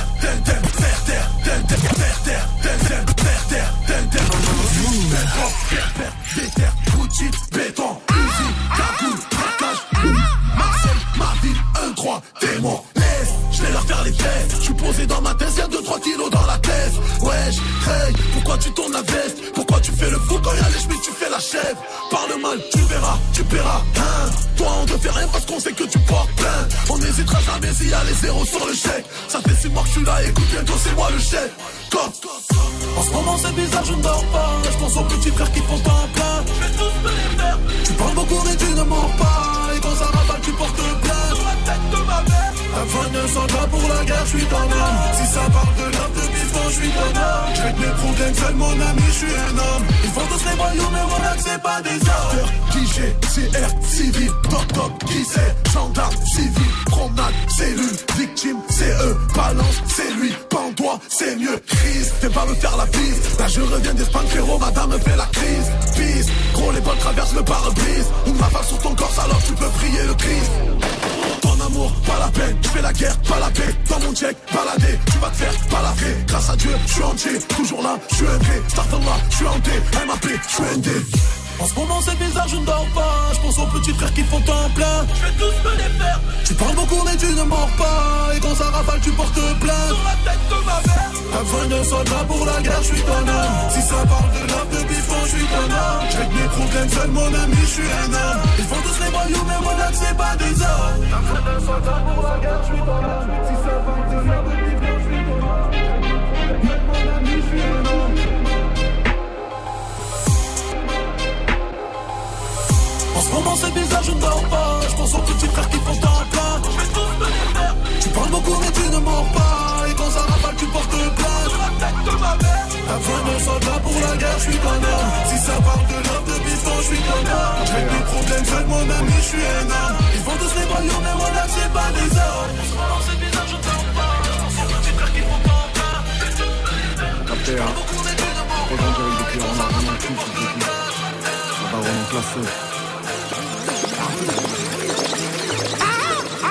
S16: terre, Gucci, béton, usine, cagoule, braquage, Marseille, ma ville, 1-3, démon, laisse, je vais leur faire les tests, je suis posé dans ma tête, y'a 2-3 kilos dans la tête, wesh, hey, pourquoi tu tournes la veste, pourquoi tu fais le fou quand y'a les chemises, tu fais la chèvre, parle mal, tu verras, tu paieras, hein, toi on te fait rien parce qu'on sait que tu portes plainte, on n'hésitera jamais s'il y a les zéros sur le chèque, ça fait 6 mois que je suis là, écoute bientôt c'est moi le chef, en ce moment c'est bizarre, je ne dors pas, je pense aux petits frères qui font temps plein, je vais tous me les faire, tu parles beaucoup mais tu ne mens pas, et quand ça rafale tu portes plainte, sur la tête de ma mère, la fin ne s'en va pour la guerre, je suis ton homme, si ça parle de l'homme de bifton, je suis ton homme, je règle mes problèmes seul mon ami, je suis un homme, ils font tous les voyous mais relax c'est pas des hommes, DJ, CR, civil, top, qui c'est, gendarme, civil, promenade, cellule, victime, c'est eux, balance, c'est lui, pends-toi, c'est mieux, crise, fais pas me faire la bise, là je reviens d'Espagne, frérot, madame me fait la crise, pisse, gros les balles traversent le pare-brise, une rafale sur ton corps alors tu peux prier le Christ. Ton amour, pas la peine, je fais la guerre, pas la paix, dans mon check, balader, tu vas te faire balafrer, grâce à Dieu, je suis entier, toujours là, je suis un vrai, starter là, je suis hanté, MAP, je suis un dé. En ce moment c'est bizarre, je ne dors pas, je pense aux petits frères qui font temps plein, je vais tous me les faire, tu parles beaucoup mais tu ne mords pas, et quand ça rafale tu portes plainte, sur la tête de ma mère, la fin de soldat pour la guerre, je suis ton homme, si ça parle de l'homme de bifton, je suis ton homme, je règle mes problèmes seul mon ami, je suis un homme, ils font tous les voyous mais mon âme c'est pas des hommes, la fin de soldat pour la guerre, je suis ton homme, si ça parle de l'homme de bifton, je suis ton homme, je règle mes problèmes seul mon ami, je suis un homme. En ce moment c'est bizarre, je ne dors pas, je pense aux petits frères qui font temps plein, je vais tous me les faire, tu parles beaucoup mais tu ne mords pas, et quand ça rafale tu portes plainte, sur la tête de ma mère, la fin de soldat pour la guerre, je suis ton homme, si ça parle de l'homme de bifton, je suis ton homme, je règle mes problèmes seul mon ami, je suis un homme, ils font tous les voyous mais voilà c'est pas des hommes. En ce moment c'est bizarre, je ne dors pas, je pense aux petits frères qui font temps plein, je vais tous me les faire, tu parles beaucoup mais tu ne mords pas, et quand ça rafale tu portes plainte,
S20: ça va vraiment classer.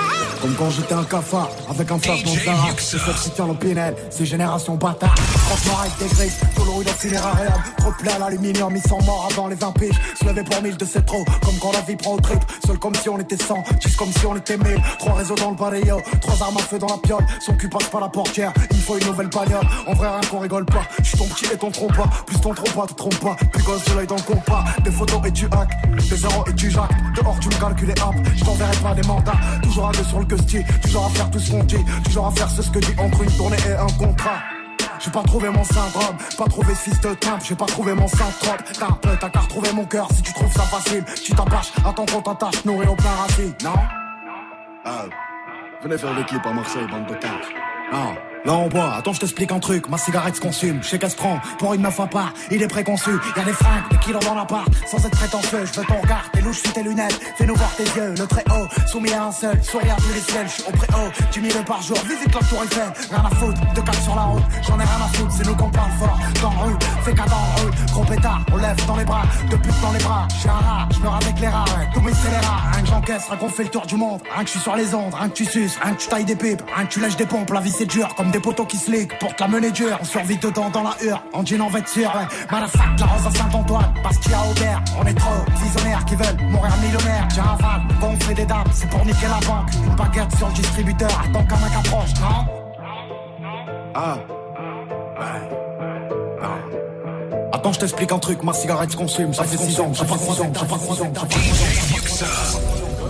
S20: Comme quand j'étais un cafard, avec un flash dans le Zara. C'est ceux qui tient l'opinel, c'est génération bâtard. Franchement avec des griffes, tout le rouille dans le cinérarium. Trop de plaies à l'aluminium, ils sont morts avant les 20 piges. Se lever pour 1000 de c'est trop, comme quand la vie prend au trip. Seul comme si on était 100, juste comme si on était 1000. 3 réseaux dans le barrio, 3 armes à feu dans la piole. Son cul passe par la portière, il faut une nouvelle bagnole. En vrai rien qu'on rigole pas, j'suis ton petit et ton trompe pas. Plus ton trompe pas, te trompe pas, plus gosse de l'œil dans le compas. Des photos et tu hack, des zéros et tu jacques. Dehors tu me calcules et hop, j't'enverrai pas des mandats. Toujours à deux sur le gusti, toujours à faire tout ce qu'on dit. Toujours à faire ce que dit entre une tournée et un contrat. J'ai pas trouvé mon syndrome, pas trouvé ce fils de timbre, j'ai pas trouvé mon synthrope. T'as qu'à retrouver mon cœur si tu trouves ça facile. Tu t'attaches, attends qu'on t'attache, nourri au plein racine, non? Ah, venez faire le clip à Marseille, bande de tanks. Non. Là on boit, attends je t'explique un truc, ma cigarette se consume, je sais qu'elle se prend pour une meuf à part, il est préconçu, y'a des fringues, des kilos dans l'appart, sans être prétentieux, je veux ton regard, tes louches sous tes lunettes, fais-nous voir tes yeux, le très haut, soumis à un seul, sourire à tous les ciels, je suis au préhaut, 10 000 par jour, visite la tour Eiffel, rien à foutre, 2 4 sur la route, j'en ai rien à foutre, c'est nous qu'on parle fort, dans la rue, fais qu'à dans la rue, gros pétard, on lève dans les bras, de pute dans les bras, je suis un rat, je meurs avec les rats, ouais, tous mes scélérats, rien que j'encaisse, rien qu'on fait le tour du monde, rien que je suis sur les ondes, rien que tu suces, rien que tu tailles des pipes, rien que tu lèches des pompes, la vie c'est dur, comme des poteaux qui se liguent. Porte la menée dure, on survit dedans dans la hure. En jean en vêture, ouais. Madafac, la rose à Saint-Antoine. Bastia Aubert, on est trop visionnaires qui veulent mourir millionnaire. J'ai un van, bon on fait des dames, c'est pour niquer la banque. Une baguette sur le distributeur, attends qu'un mec approche, non? Ah, ouais. Attends, je t'explique un truc, ma cigarette se consume. Ça fait 6 ans, ça fait 3 ans, ça fait 3 ans, ça fait 3 ans.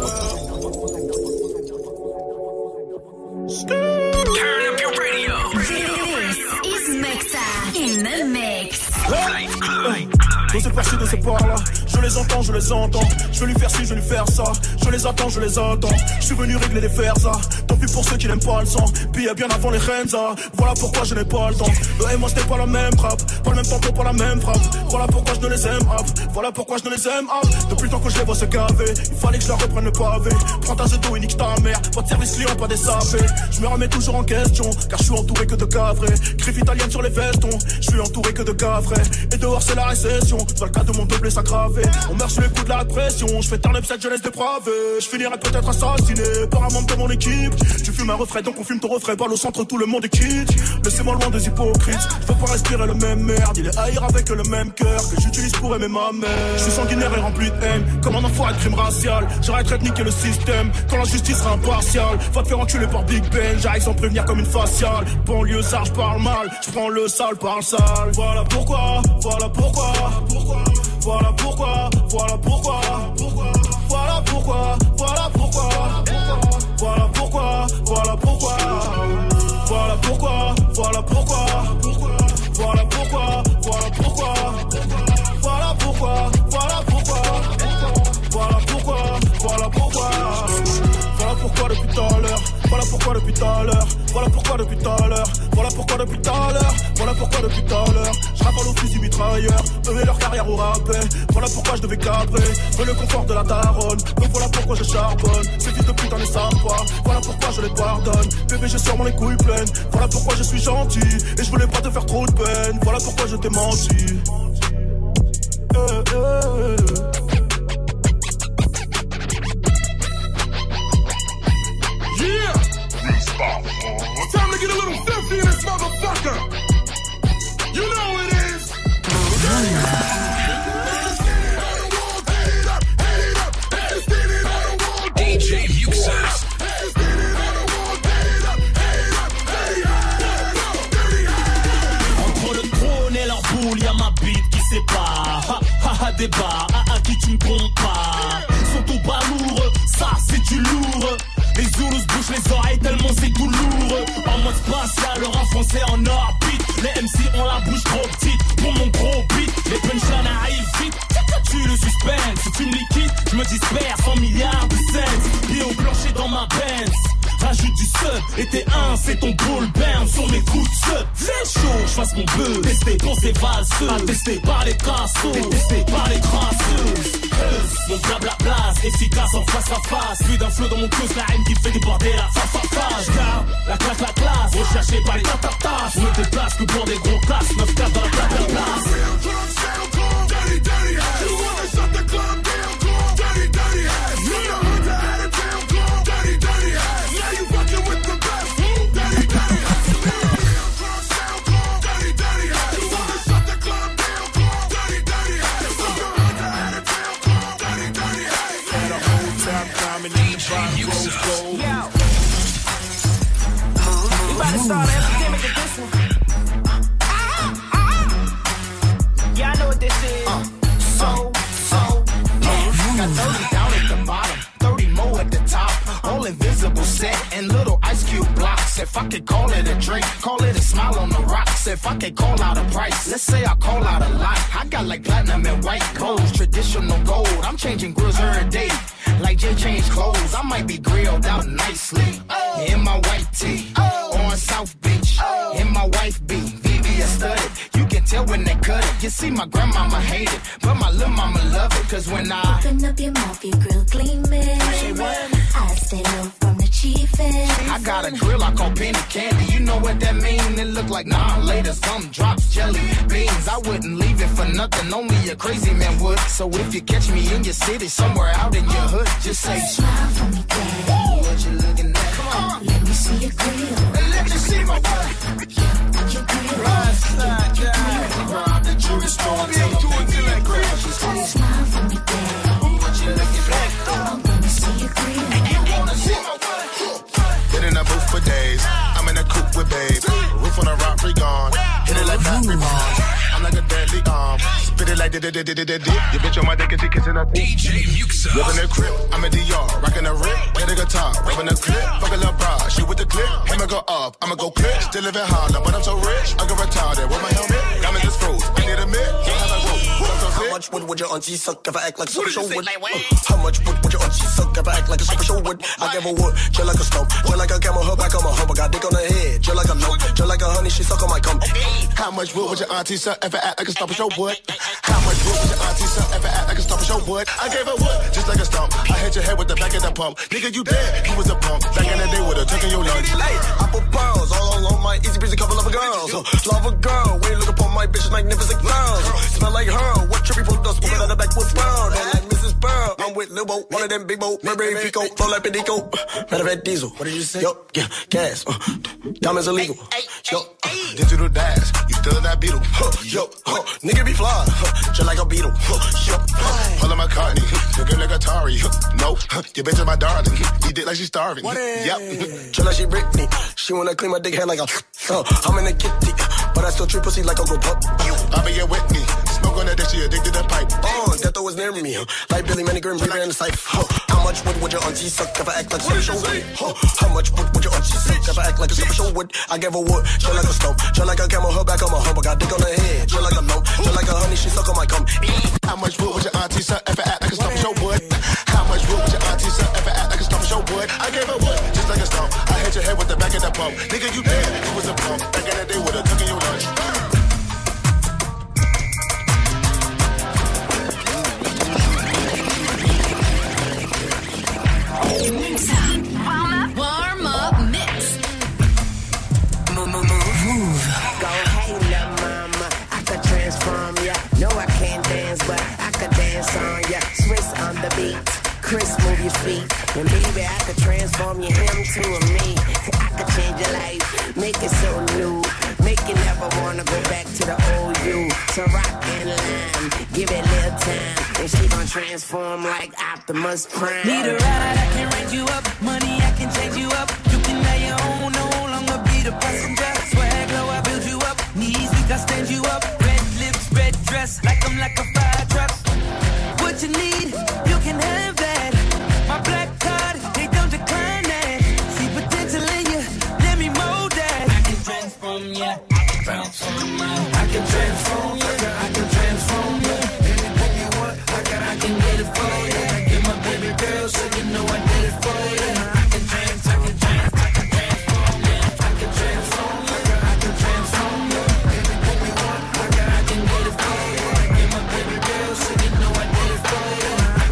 S7: In the mix.
S17: Dans cette partie de ces ports-là, je les entends, je les entends. Je veux lui faire ci, je veux lui faire ça. Je les attends, je les attends. Je suis venu régler les fers, ça. Tant pis pour ceux qui n'aiment pas le sang. Puis bien avant les Renza. Voilà pourquoi je n'ai pas le temps. Eux et moi c'était pas la même frappe. Pas le même tempo, pas la même frappe. Voilà pourquoi je ne les aime up. Voilà pourquoi je ne les aime up. Depuis le temps que je les vois se gaver, il fallait que je leur reprenne le pavé. Prends ta zeto et nique ta mère. Pas de service client, pas des sapés. Je me remets toujours en question, car je suis entouré que de cavrés. Griffe italienne sur les vestons. Je suis entouré que de cavrés. Et dehors c'est la récession. Dans le cas de mon double s'aggraver. On meurt sous les coups de la pression. Je fais turn up cette jeunesse dépravée. Je finirai peut-être assassiné par un membre de mon équipe. Tu fumes un refrain donc on fume ton refrain. Balle au centre tout le monde est quitte. Laissez-moi loin des hypocrites. Je veux pas respirer le même merde. Il est haïr avec le même cœur que j'utilise pour aimer ma mère. Je suis sanguinaire et rempli de haine. Comme un enfoiré de crime racial. J'arrêterai de niquer le système quand la justice sera impartiale. Va te faire enculer par Big Ben. J'arrive sans prévenir comme une faciale. Banlieusard je parle mal. Je prends le sale par le sale. Voilà pourquoi. Voilà pourquoi. Voilà pourquoi, voilà pourquoi, voilà pourquoi, voilà pourquoi, voilà pourquoi, voilà pourquoi, voilà pourquoi, voilà pourquoi, voilà pourquoi, voilà pourquoi, voilà pourquoi, voilà pourquoi, voilà pourquoi, voilà pourquoi, voilà pourquoi depuis tout à l'heure, voilà pourquoi depuis tout à l'heure, voilà pourquoi depuis tout à l'heure, voilà pourquoi depuis tout à l'heure, voilà pourquoi depuis tout à l'heure, je raffole au fusil mitrailleur, eux et leur carrière au rappel, voilà pourquoi je devais cadrer, veux le confort de la daronne, donc voilà pourquoi je charbonne, ces fils de putain ne savent pas, voilà pourquoi je les pardonne, bébé j'ai sûrement les couilles pleines, voilà pourquoi je suis gentil, et je voulais pas te faire trop de peine, voilà pourquoi je t'ai menti.
S3: Yeah! It's time to get a little filthy in this motherfucker! You know it is! DJ Muxas.
S21: Entre le trône et leur boule, y'a ma bite qui sépare. Ha ha ha, débat, à qui tu ne comptes pas. Sont au bas lourd, ça c'est du lourd. Les Zoulous bouchent les oreilles tellement c'est tout lourd. En mode spatial, le rap français en orbite. Les MC ont la bouche trop petite pour mon gros beat. Les punchlines arrivent vite, tu le suspense. Si tu me liquides, je me disperse 100 milliards de cents. Pieds au plancher dans ma Benz. Rajoute du sub, et t'es un, c'est ton ball burn sur mes coups de sub. C'est chaud, j'fasse mon buzz. Testé pour ces valseuses, attesté par les cassos, détesté par les crasseuses. Mon blabla place, efficace en face à face. Plus d'un flow dans mon cause, la haine qui fait déborder la face. Car la classe, recherché par les tatatas. Je me déplace que pour des gros classes, 9-4 dans la place.
S3: Dirty, dirty ass. You wanna shut the club down, dirty, dirty ass. You know who's the head of town, dirty, dirty ass.
S6: We about to start an epidemic of this one. Yeah, I know what this is.
S8: Got 30 down at the bottom, 30 more at the top. All invisible set and little ice cube blocks. If I could call it a drink, call it a smile on the rocks. If I could call out a price, let's say I call out a lot. I got like platinum and white gold, traditional gold. I'm changing grills every day, like Jay changed clothes. I might be grilled out nicely in my white tee on South Beach. In my wife beat, VVS studded. You can tell when they cut it. You see, my grandmama hate it, but my little mama love it. Cause when I
S22: open up your mouth, your grill gleaming. I stay low from the chiefest.
S8: I got a grill I call penny candy. You know what that mean? It look like nah later. Some drops jelly beans. I wouldn't leave it for nothing. Only a crazy man would. So if you catch me in your city, somewhere out in your hood, just say
S22: smile for me, daddy.
S8: What you looking at?
S22: Come on, let me see your grill.
S8: And let me see my what?
S22: Your grill.
S8: Rob the jewelry store. Tell them baby that grill.
S22: Smile for me, daddy.
S8: What you looking at?
S22: Let me see your grill.
S23: Been in a booth for days. I'm in a coupe with babes. Roof on a rock, free gone. Hit it like battery bombs. I'm like a deadly arm. Spit it like did. Your bitch on my dick and she kissing her teeth.
S3: DJ Muxa.
S23: Living a crib, I'm a DR. Rocking a rip, get a guitar. Rubbing a clip, fuck a little bra. She with the clip, hammer go up. I'ma go clip. Still living harder, but I'm so rich. I go retarded with my helmet. Got me this froze. I need a mid.
S24: How much would your auntie suck if I act like a super show would? How much would your auntie suck if I act like a super show would? I give her wood, chill like a stump, chill like a camel, her back on my hump. I got dick on her head, chill like a lump, chill like a honey, she suck on my cum.
S23: How much would your auntie suck if I act like a stop show would? How much would your auntie suck if I act like a stop show would? I gave her wood, just like a stump. I hit your head with the back of the pump. Nigga, you dead, you was a pump. Back in the day with a tuck in your lunch.
S24: Hey, I put pearls all on my easy breezy couple of girls. Love a girl, when you look upon my bitch, magnificent girls. Smell like her, what trippy pulled us, spoken out the back with Pearl. Don't like Mrs. Pearl, I'm with Lil Bo, one of them big Bo, Burberry Pico, flow like Pedico. Matter of fact, Diesel, what did you say? Yo, yeah, gas, diamonds illegal. Yo,
S23: digital dash, you still in that beetle.
S24: Yo, nigga be fly, just like a beetle. Yo,
S23: Paul McCartney, nigga like Atari. No, your bitch is my darling. Eat it like she's starving. Yep.
S24: Just like she Britney, she wanna clean my dick head like a. I'm in a kitty, but I still treat pussy like a go pup.
S23: I'll be here with me. Smoke on that dick, she addicted to pipe.
S24: Death was near me. Like Billy Manningham, breather in the sight. How much would your auntie suck if I act like a super show would? How much would your auntie suck if I act like a super show would? I give her wood, chill like a stump, chill like a camel, her back on my hump. I got dick on her head, chill like a lump, chill like a honey, she suck on my cum.
S23: How much would your auntie suck if I act like a stop show would? How much would your auntie suck if I act like a stop show would? I gave her wood, just like a stump. I hit your head with the back of the pump. Nigga, you dead, you was a pump. Back in the day with a tuck in your lunch.
S4: Warm up mix.
S25: Move. Go hey la mama, I could transform ya. No, I can't dance, but I could dance on ya. Swiss on the beat, Chris move your feet. And baby, I could transform you him to a me. I could change your life, make it so new. Make you never wanna go back to the old you. So rock and line, give it a little time. And she gon' transform like Optimus Prime.
S26: Need a ride, I can raise you up. Money, I can change you up. You can lay your own, no longer be the passenger. Swag low, I build you up. Knees weak, I stand you up. Red lips, red dress, like I'm like a fire truck. What you need, you can have that. My black card, they don't decline that. See potential in you, let me mold that. I can transform ya, I can transform ya. I can transform ya, I can transform ya. Anything you want, I can get it for you. Get my baby girl, so you know I did it for you. I can transform ya. I can transform ya, I can transform ya. Anything you want, I can get it for you. Get my baby girl, so you know I did it for you.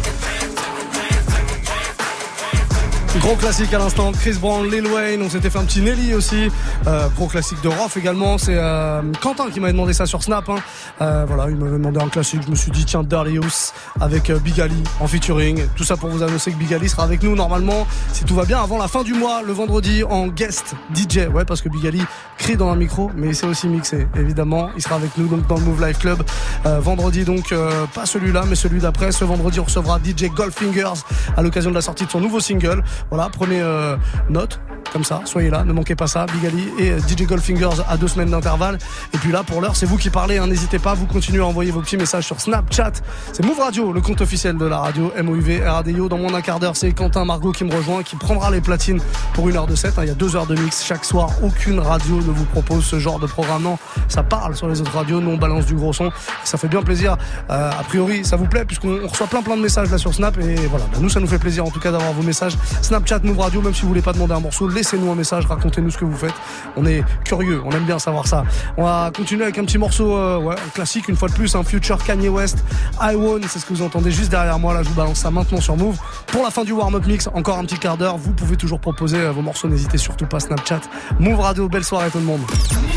S2: Gros classique à l'instant, Chris Brown, Lil Wayne, on s'était fait un petit Nelly aussi, gros classique de Rof également, c'est Quentin qui m'avait demandé ça sur Snap, voilà, il m'avait demandé un classique, je me suis dit tiens, Darius avec Big Ali en featuring, tout ça pour vous annoncer que Big Ali sera avec nous normalement, si tout va bien, avant la fin du mois, le vendredi en guest DJ, ouais parce que Big Ali crie dans un micro, mais il sait aussi mixer, évidemment, il sera avec nous donc dans le Move Life Club, vendredi donc, pas celui-là mais celui d'après, ce vendredi on recevra DJ Goldfingers à l'occasion de la sortie de son nouveau single. Voilà, prenez note. Comme ça, soyez là, ne manquez pas ça. Big Ali et DJ Goldfingers à 2 semaines d'intervalle. Et puis là, pour l'heure, c'est vous qui parlez, hein, n'hésitez pas, vous continuez à envoyer vos petits messages sur Snapchat. C'est Move Radio, le compte officiel de la radio, MOUV RADIO. Dans moins d'un quart d'heure, c'est Quentin Margot qui me rejoint, qui prendra les platines pour 1 heure de set. Hein, il y a 2 heures de mix chaque soir. Aucune radio ne vous propose ce genre de programme. Non, ça parle sur les autres radios, nous on balance du gros son. Ça fait bien plaisir. A priori, ça vous plaît, puisqu'on reçoit plein de messages là sur Snap. Et voilà, nous ça nous fait plaisir en tout cas d'avoir vos messages. Snapchat, Move Radio, même si vous voulez pas demander un morceau, laissez-nous un message, racontez-nous ce que vous faites. On est curieux, on aime bien savoir ça. On va continuer avec un petit morceau classique une fois de plus, un Future Kanye West, I Won, c'est ce que vous entendez juste derrière moi. Là, je vous balance ça maintenant sur Move. Pour la fin du warm-up mix, encore un petit quart d'heure. Vous pouvez toujours proposer vos morceaux, n'hésitez surtout pas. Snapchat, Move Radio, belle soirée tout le monde.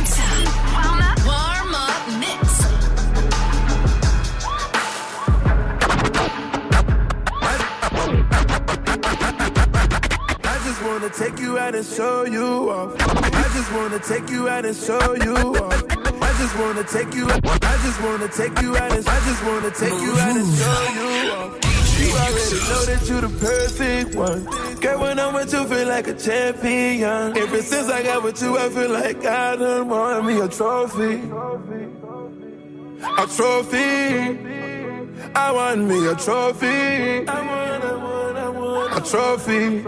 S9: Take you out and show you off. I just wanna take you out and show you off. I just wanna take you out. I just wanna take you out and I just wanna take you out and show you off. You already know that you the perfect one. Girl, when I'm with you, feel like a champion. Ever since I got with you, I feel like I done won me a trophy. A trophy. I want me a trophy. I want a trophy.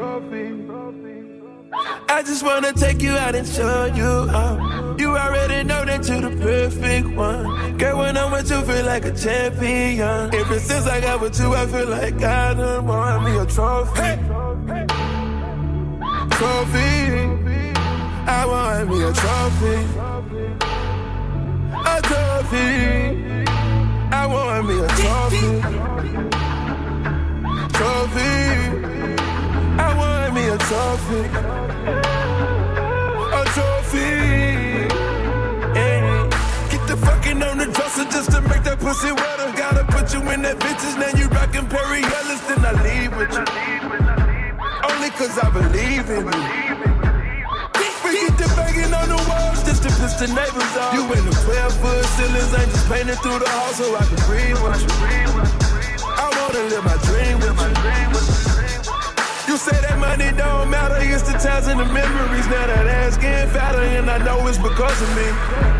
S9: I just wanna take you out and show you out. You already know that you're the perfect one. Girl, when I'm with you, feel like a champion. Ever since I got with you, I feel like I done won me a trophy. Hey. Trophy. I want me a trophy. A trophy. I want me a trophy. Trophy. I want me a trophy. A trophy. Hey. Get the fucking on the dresser just to make that pussy wetter. Gotta put you in that bitches, now you rockin' Perry Ellis, then I leave with you. Only cause I believe in you. We get the banging on the walls just to piss the neighbors off. You in the 12-foot ceilings, ain't just painted through the hall so I can breathe with you. I wanna live my dream with you. You say that money don't matter, it's the times and the memories. Now that ass getting fatter and I know it's because of me.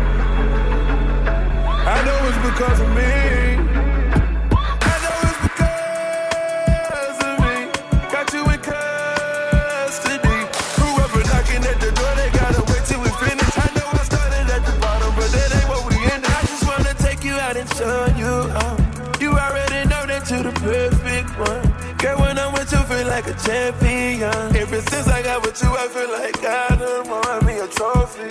S9: I know it's because of me. I know it's because of me. Got you in custody. Whoever knocking at the door, they gotta wait till we finish. I know I started at the bottom, but that ain't what we ended. I just wanna take you out and show you out. You already know that you're the perfect one. Girl, when I'm with you, feel like a champion. Ever since I got with you, I feel like I done won me a trophy.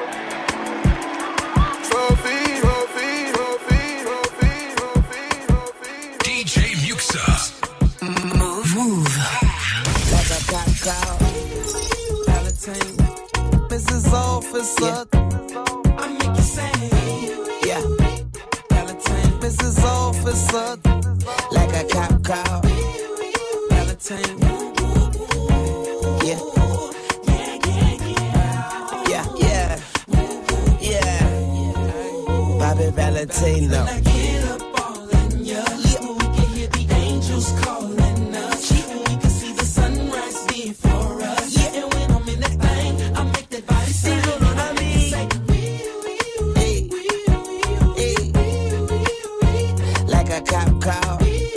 S9: Trophy, trophy, trophy, trophy, trophy, trophy.
S3: DJ Muxa.
S22: Move.
S9: Like a cop call. Valentine. Mrs. Officer. I make you say, yeah. Valentine. Mrs. Officer. Like a cop call. Yeah. Yeah, yeah. Yeah. Bobby Valentino. When I get up all in ya, we can hear the angels calling us. We can see the sunrise before us. Yeah, and when I'm in that thing, I make that body sing. You know what I mean? Hey. Like a cop call.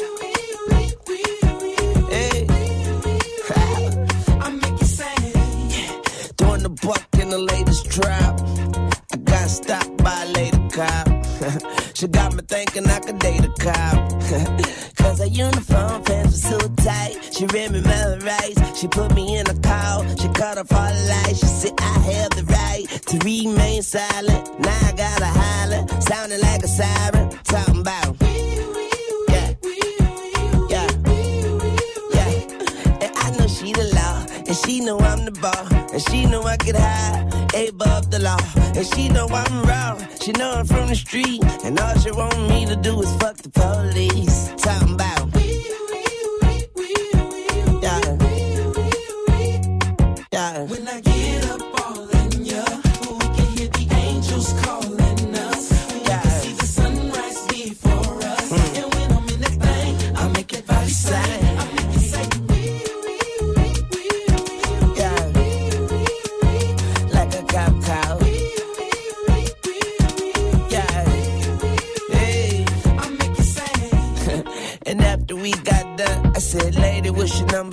S9: Drop. I got stopped by a lady cop. She got me thinking I could date a cop. Cause her uniform pants were so tight. She read me my rights. She put me in a call. She cut off all the lights. She said I have the right to remain silent. Now I gotta holler, sounding like a siren. Talking about she the law, and she know I'm the ball, and she know I get high, above the law, and she know I'm raw, she know I'm from the street, and all she want me to do is fuck the police, talking about, yeah. When I get up all in ya, we can hear the angels calling us, we can see the sunrise before us, and when I'm in that thing, I make it body sing.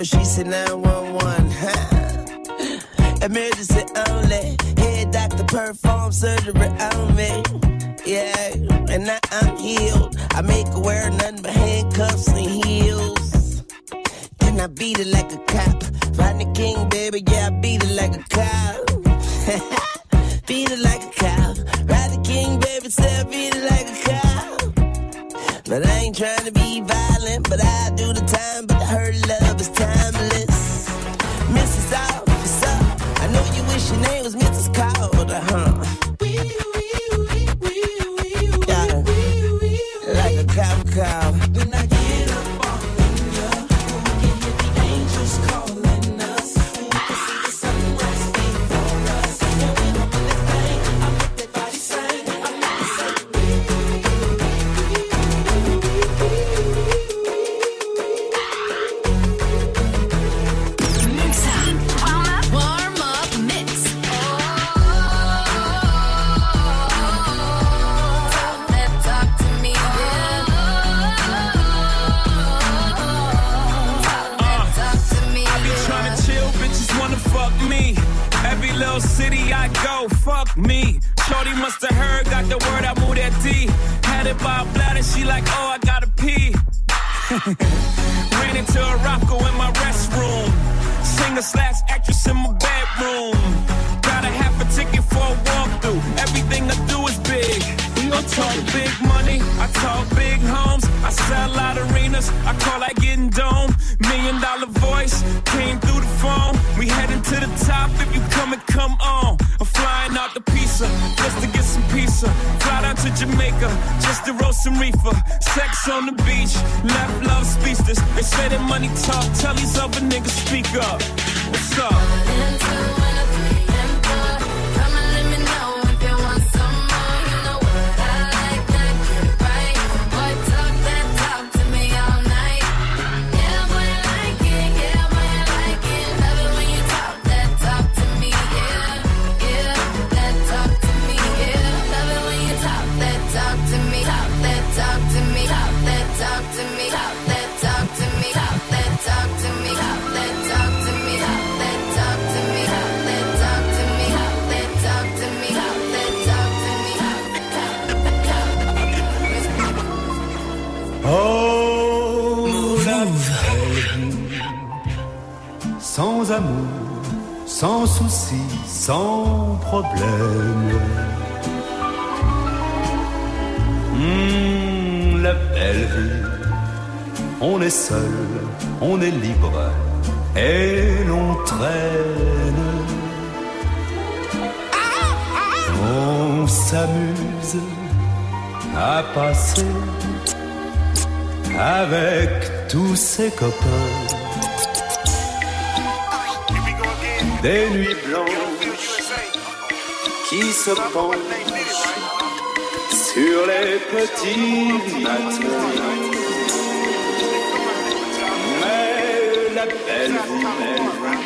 S25: number, she said 911. Emergency only. Head doctor perform surgery on me. Yeah, and now I'm healed. I make her wear nothing but handcuffs and heels. And I beat it like a cop. Rodney King, baby, yeah, I beat it like a cop. Beat it like a cop. Rodney King, baby, say I beat it like a cop. But I ain't trying to be violent, but I do the time, but her love is timeless. Mrs. Officer, I know you wish your name was Mrs. Calder, yeah, like a cop call. When I get up on you, we'll give you the angels calling us. We can see the sunrise before us. Yeah, we gon' put that thing, I make that body sing. I make it say,
S4: Warm up mix. Talk to me, yeah. Talk to me,
S6: I be tryna chill, bitches wanna fuck me. Every little city I go, fuck me. Shorty musta heard, got the word, I moved that D. Had it by a bladder, she like, oh, I gotta pee. Ran into a rocko in my restroom. Singer/actress in my bedroom. Got a half a ticket for a walkthrough. Everything I do is big. We gon' talk big money, I talk big homes. I sell out arenas, I call that getting dome. $1 million voice came through the phone. We heading to the top, if you come and come on. I'm flying out the pizza, just to get some pizza. Fly down to Jamaica, just to roast some reefer. Sex on the beach, left love speechless. They say that money talk, tell these other niggas speak up. What's up?
S1: Sans amour, sans souci, sans problème. La belle vie, on est seul, on est libre et l'on traîne. On s'amuse à passer avec tous ses copains. Des nuits blanches qui se penchent sur les petits matins. Mais la belle vie,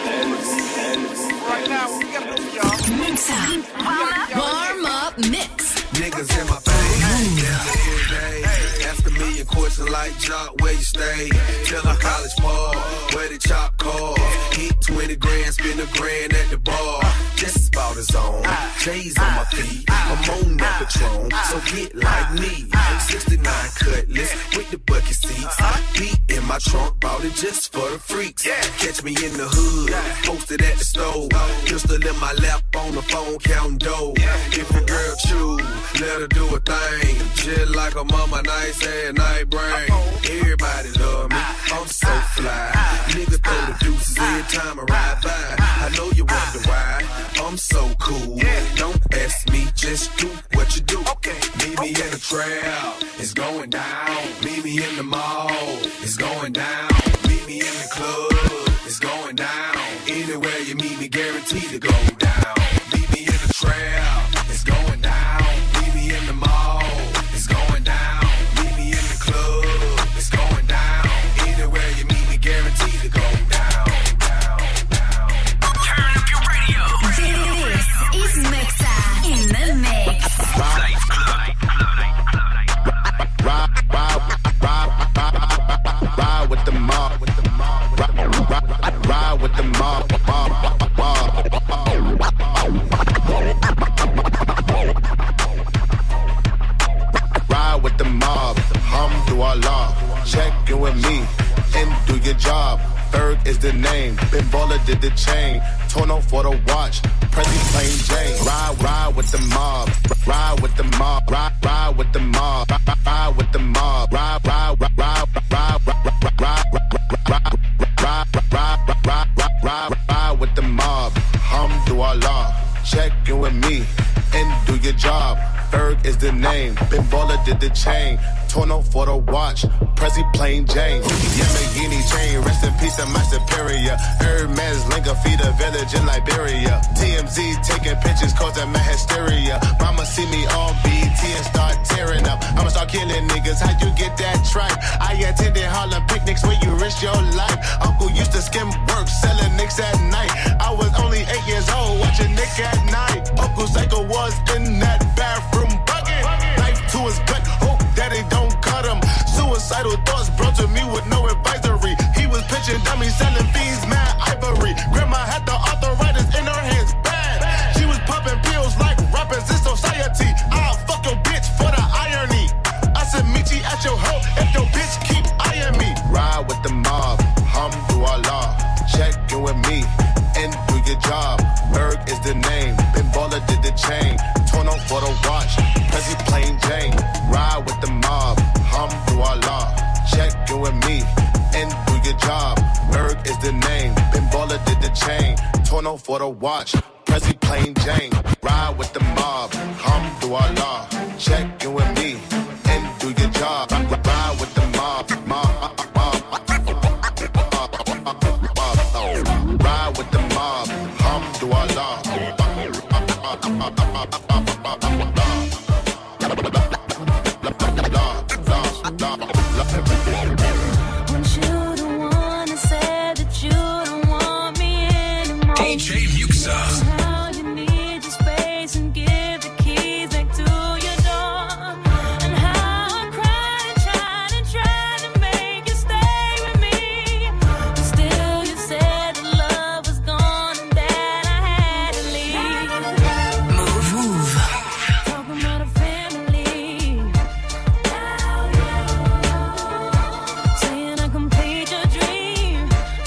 S4: Warm up mix.
S5: Niggas in my face, ask a million questions like Jock, where you stay? Tell them college ball, where the chop call. Hit 20 grand, spend $1 grand at the bar. Just about his own, J's on my feet, I'm on that Patron, so get like me. 69 Cutlass with the bucket seats, beat in my trunk, bought it just for the freaks. Catch me in the hood, posted at the stove, pistol in my lap on the phone, counting dough. If a girl choose, let her do a thing, just like a mama, nice and night brain. Everybody love me, I'm so fly. Niggas throw the deuces every time I ride by. I know you wonder why I'm so cool. Don't ask me, just do what you do. Meet me in the trail, it's going down. Meet me in the mall, it's going down. Meet me in the club, it's going down. Anywhere you meet me, guaranteed to go down. Meet me in the trail, it's going down. Meet me in the mall, it's going down. Meet me in the club, it's going down. Anywhere you meet me, guaranteed to go down.
S3: Turn up your radio.
S7: This is Mixa in the mix.
S23: Ride with the mob. is the name. Ben Baller did the chain. Torno for the watch. Prezi plain Jane. Ride with the mob. Ride with the mob. Ride with the mob. Ride with the mob. Ride with the mob. Alhamdulillah. Check in with me and do your job. Ferg is the name. Ben Baller did the chain. Torno for the watch. Prezi plain Jane. Yamagini chain. Rest in peace of my superior. Hermes Linga feed a village in Liberia. TMZ taking pictures causing my hysteria. Mama see me on BET and start tearing up. I'ma start killing niggas. How you get that tripe? I attended Harlem picnics where you risk your life. Uncle used to skim work selling nicks at night. I was only 8 years old watching Nick at night. Uncle Psycho was in that bathroom bucket. Knife to his gut. Hope daddy don't cut him. Suicidal thoughts brought to me with no advisory. He was pitching dummies, selling fiends, mad ivory. Grandma had the arthritis in her hands, bad. She was popping pills like rappers in society. I'll fuck your bitch for the irony. I said meet you at your hoe if your bitch keep eyeing me. Ride with the mob, Alhamdulillah. Check in with me and do your job. Berg is the name. Ben Baller did the chain. Torno for the watch. Prezi plain Jane. Ride with the mob. Alhamdulillah. Check in with me and do your job. Berg is the name. Ben Baller did the chain. Torno for the watch. Prezi plain Jane. Ride with the mob. Alhamdulillah. Check in with me and do your job. Ride with the mob. Ride with the mob. Alhamdulillah.
S3: DJ Muxa.
S10: How you need your space and give the keys back to your door. And how I cried and tried to make you stay with me. But still you said the love was gone and that I had to leave.
S3: Move.
S10: Talking about a family. Saying I complete your dream.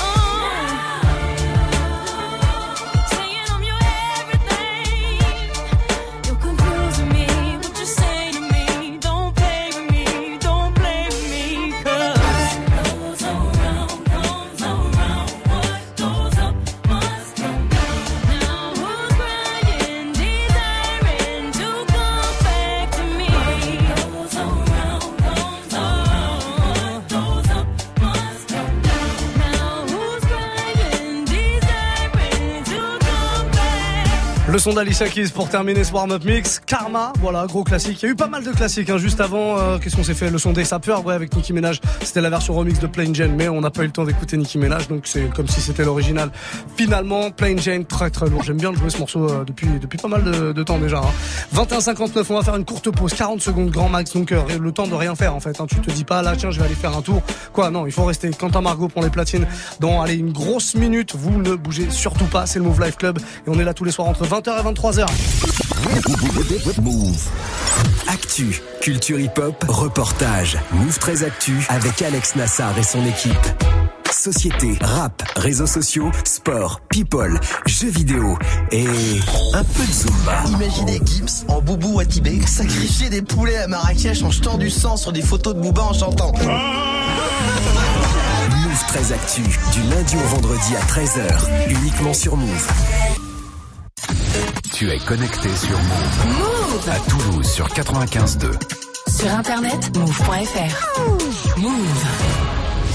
S10: Saying I'm your everything. You're confusing me. What you say to me? Don't play with me. Don't play with me. 'Cause goes around, comes around. What goes up must come down. Now who's crying, desiring to come back to me? Goes around, comes around. What goes up must come down. Now who's crying, desiring to come back?
S2: Le son d'Alicia Keys pour terminer ce warm-up mix. Karma, voilà, gros classique. Il y a eu pas mal de classiques, hein. Juste avant, qu'est-ce qu'on s'est fait? Le son des sapeurs, ouais, avec Nicki Minaj. C'était la version remix de Plain Jane, mais on n'a pas eu le temps d'écouter Nicki Minaj, donc c'est comme si c'était l'original. Finalement, Plain Jane, très très lourd. J'aime bien jouer ce morceau depuis pas mal de temps déjà, hein. 21h59, on va faire une courte pause, 40 secondes grand max, donc le temps de rien faire en fait, hein. Tu te dis pas là, tiens, je vais aller faire un tour. Quoi, non, il faut rester. Quentin Margot prend les platines dans, allez, une grosse minute. Vous ne bougez surtout pas, c'est le Move Life Club et on est là tous les soirs entre 20h et 23h.
S11: Move. Actu, culture hip-hop, reportage. Move 13 Actu avec Alex Nassar et son équipe. Société, rap, réseaux sociaux, sport, people, jeux vidéo et un peu de Zumba.
S12: Imaginez Gims en Boubou Watibé sacrifier des poulets à Marrakech en jetant du sang sur des photos de Booba en chantant.
S11: Move 13 Actu, du lundi au vendredi à 13h, uniquement sur Move.
S13: Tu es connecté sur Move.
S10: Move.
S13: À Toulouse sur 95.2.
S10: Sur internet, move.fr. Move.